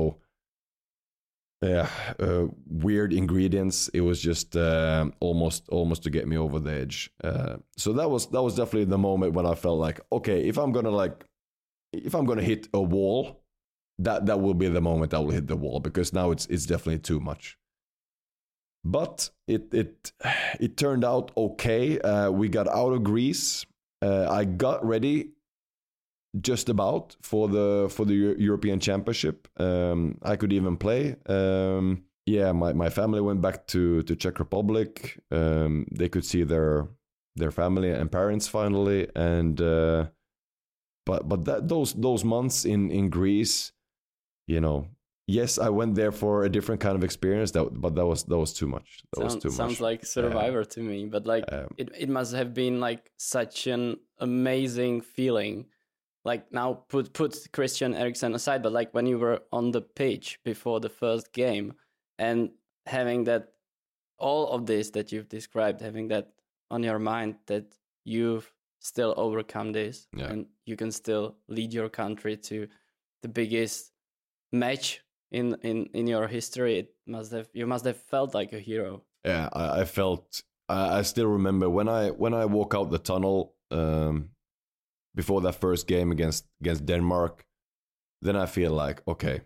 weird ingredients, it was just almost to get me over the edge. So that was definitely the moment when I felt like, okay, if I'm gonna hit a wall, that will be the moment I will hit the wall, because now it's definitely too much. But it turned out okay. We got out of Greece. I got ready just about for the European Championship. I could even play. My family went back to Czech Republic. They could see their family and parents finally, and but those months in Greece, yes, I went there for a different kind of experience. But that was too much. Sounds like Survivor to me. But it must have been like such an amazing feeling. Like now, put Christian Eriksen aside, but like when you were on the pitch before the first game and having that, all of this that you've described, having that on your mind, that you've still overcome this and you can still lead your country to the biggest match in your history. You must have felt like a hero. Yeah, I felt. I still remember when I walk out the tunnel. Before that first game against Denmark, then I feel like, okay,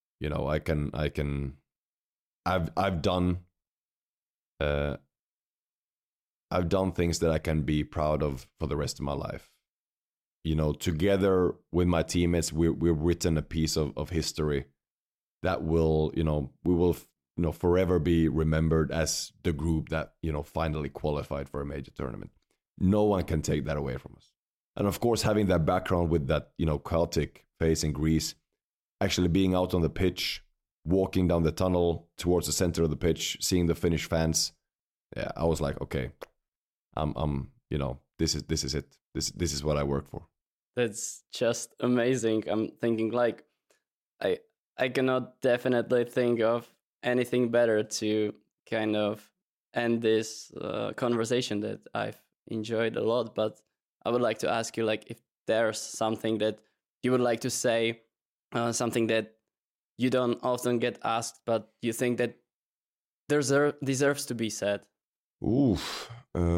I've done things that I can be proud of for the rest of my life. Together with my teammates, we've written a piece of history that will, we will, forever be remembered as the group that, finally qualified for a major tournament. No one can take that away from us. And of course, having that background with that, chaotic phase in Greece, actually being out on the pitch, walking down the tunnel towards the center of the pitch, seeing the Finnish fans, I was like, okay, this is it. This is what I work for. That's just amazing. I'm thinking like, I cannot definitely think of anything better to kind of end this conversation that I've enjoyed a lot, but I would like to ask you, like, if there's something that you would like to say, something that you don't often get asked, but you think that deserves to be said. Oof,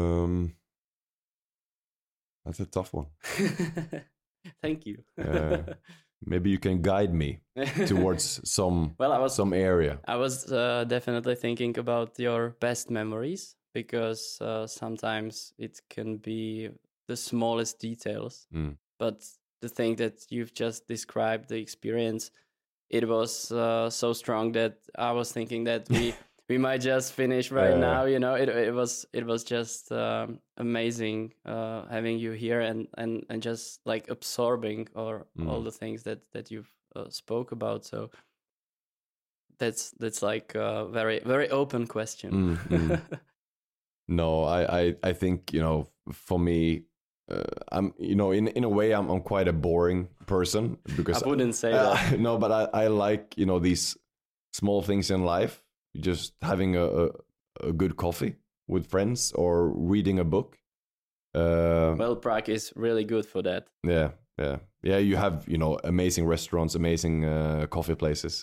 that's a tough one. Thank you. Maybe you can guide me towards some area. I was definitely thinking about your best memories, because sometimes it can be the smallest details, but the thing that you've just described, the experience, it was so strong that I was thinking that we might just finish right now. It was just amazing having you here and just like absorbing all the things that you've spoke about. So That's like a very, very open question. No, I think, you know, for me, I'm, you know, in a way, I'm quite a boring person because I wouldn't say that. No, but I like, you know, these small things in life, just having a good coffee with friends or reading a book. Well, Prague is really good for that. Yeah. You have, you know, amazing restaurants, amazing coffee places.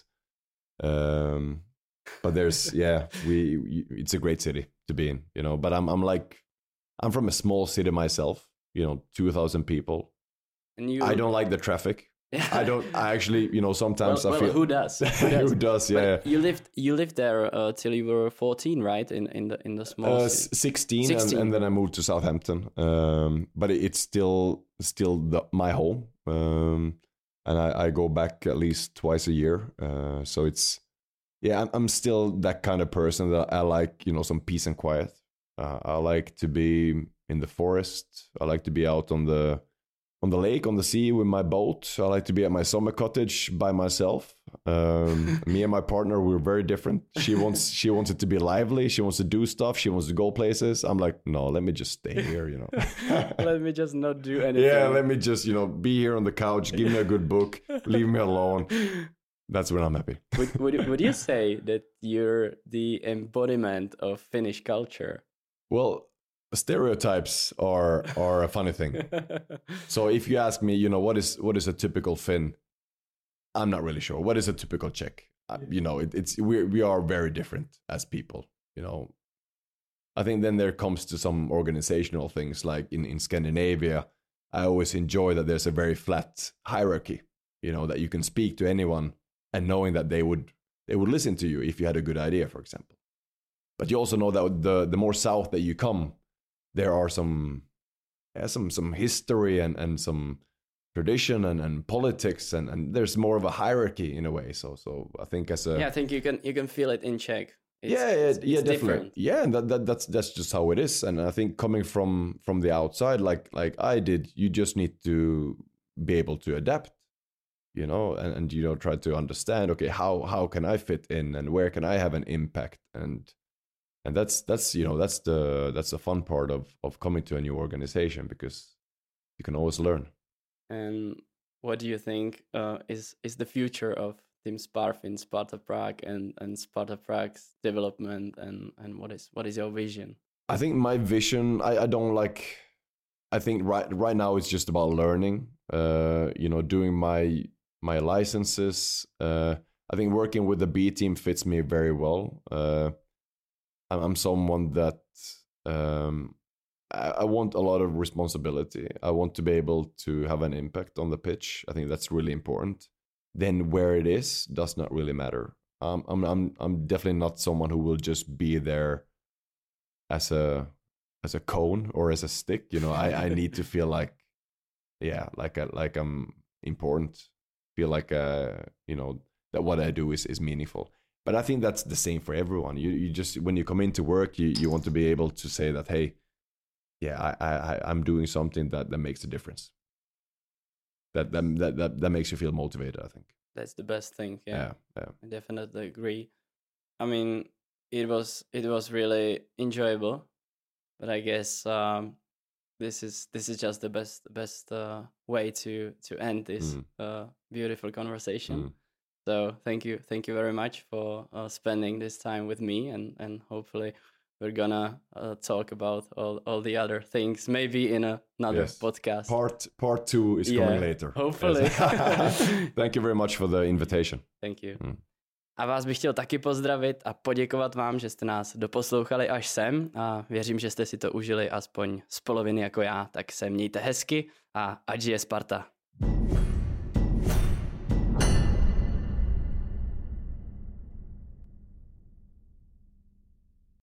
But there's, it's a great city to be in, you know. But I'm from a small city myself, you know, 2,000 people. And I don't like the traffic. I actually, you know, sometimes I feel. Who does? Who does? Yeah. But you lived there till you were 14, right? In the small city. 16. And then I moved to Southampton. But it's still my home. And I go back at least twice a year. So it's, I'm still that kind of person that I like, you know, some peace and quiet. I like to be in the forest. I like to be out on the lake, on the sea with my boat. I like to be at my summer cottage by myself. Me and my partner, we're very different. She wants it to be lively. She wants to do stuff. She wants to go places. I'm like, no, let me just stay here, you know. Let me just not do anything. Yeah, let me just, you know, be here on the couch. Give me a good book. Leave me alone. That's when I'm happy. Would you say that you're the embodiment of Finnish culture? Well, stereotypes are a funny thing. So if you ask me, you know, what is a typical Finn, I'm not really sure. What is a typical Czech? You know, we are very different as people. You know, I think then there comes to some organizational things like in Scandinavia. I always enjoy that there's a very flat hierarchy. You know, that you can speak to anyone and knowing that they would listen to you if you had a good idea, for example. But you also know that the more south that you come, there are some history and some tradition and politics and there's more of a hierarchy in a way. So I think I think you can feel it in Czech. It's definitely different. Yeah, and that's just how it is. And I think coming from the outside, like I did, you just need to be able to adapt, you know, and you know, try to understand. Okay, how can I fit in and where can I have an impact and that's you know that's the fun part of coming to a new organization because you can always learn. And what do you think is the future of Team Sparfin, Sparta Prague, and Sparta Prague's development and what is your vision? I think my vision, I don't like. I think right now it's just about learning. You know, doing my licenses. I think working with the B team fits me very well. I'm someone that I want a lot of responsibility. I want to be able to have an impact on the pitch. I think that's really important. Then where it is does not really matter. I'm definitely not someone who will just be there as a cone or as a stick. You know, I need to feel like I'm important. Feel like you know that what I do is meaningful. But I think that's the same for everyone. You just when you come into work, you want to be able to say that, hey, yeah, I'm doing something that makes a difference. That makes you feel motivated, I think. That's the best thing. Yeah. I definitely agree. I mean, it was really enjoyable, but I guess this is just the best way to end this beautiful conversation. So thank you very much for spending this time with me, and hopefully we're gonna talk about all the other things maybe in another podcast. Part 2 is coming later. Hopefully. Yes. Thank you very much for the invitation. Thank you. A vás bych chtěl taky pozdravit a poděkovat vám, že jste nás doposlouchali až sem a věřím, že jste si to užili aspoň z poloviny jako já. Tak se mějte hezky a ať žije Sparta.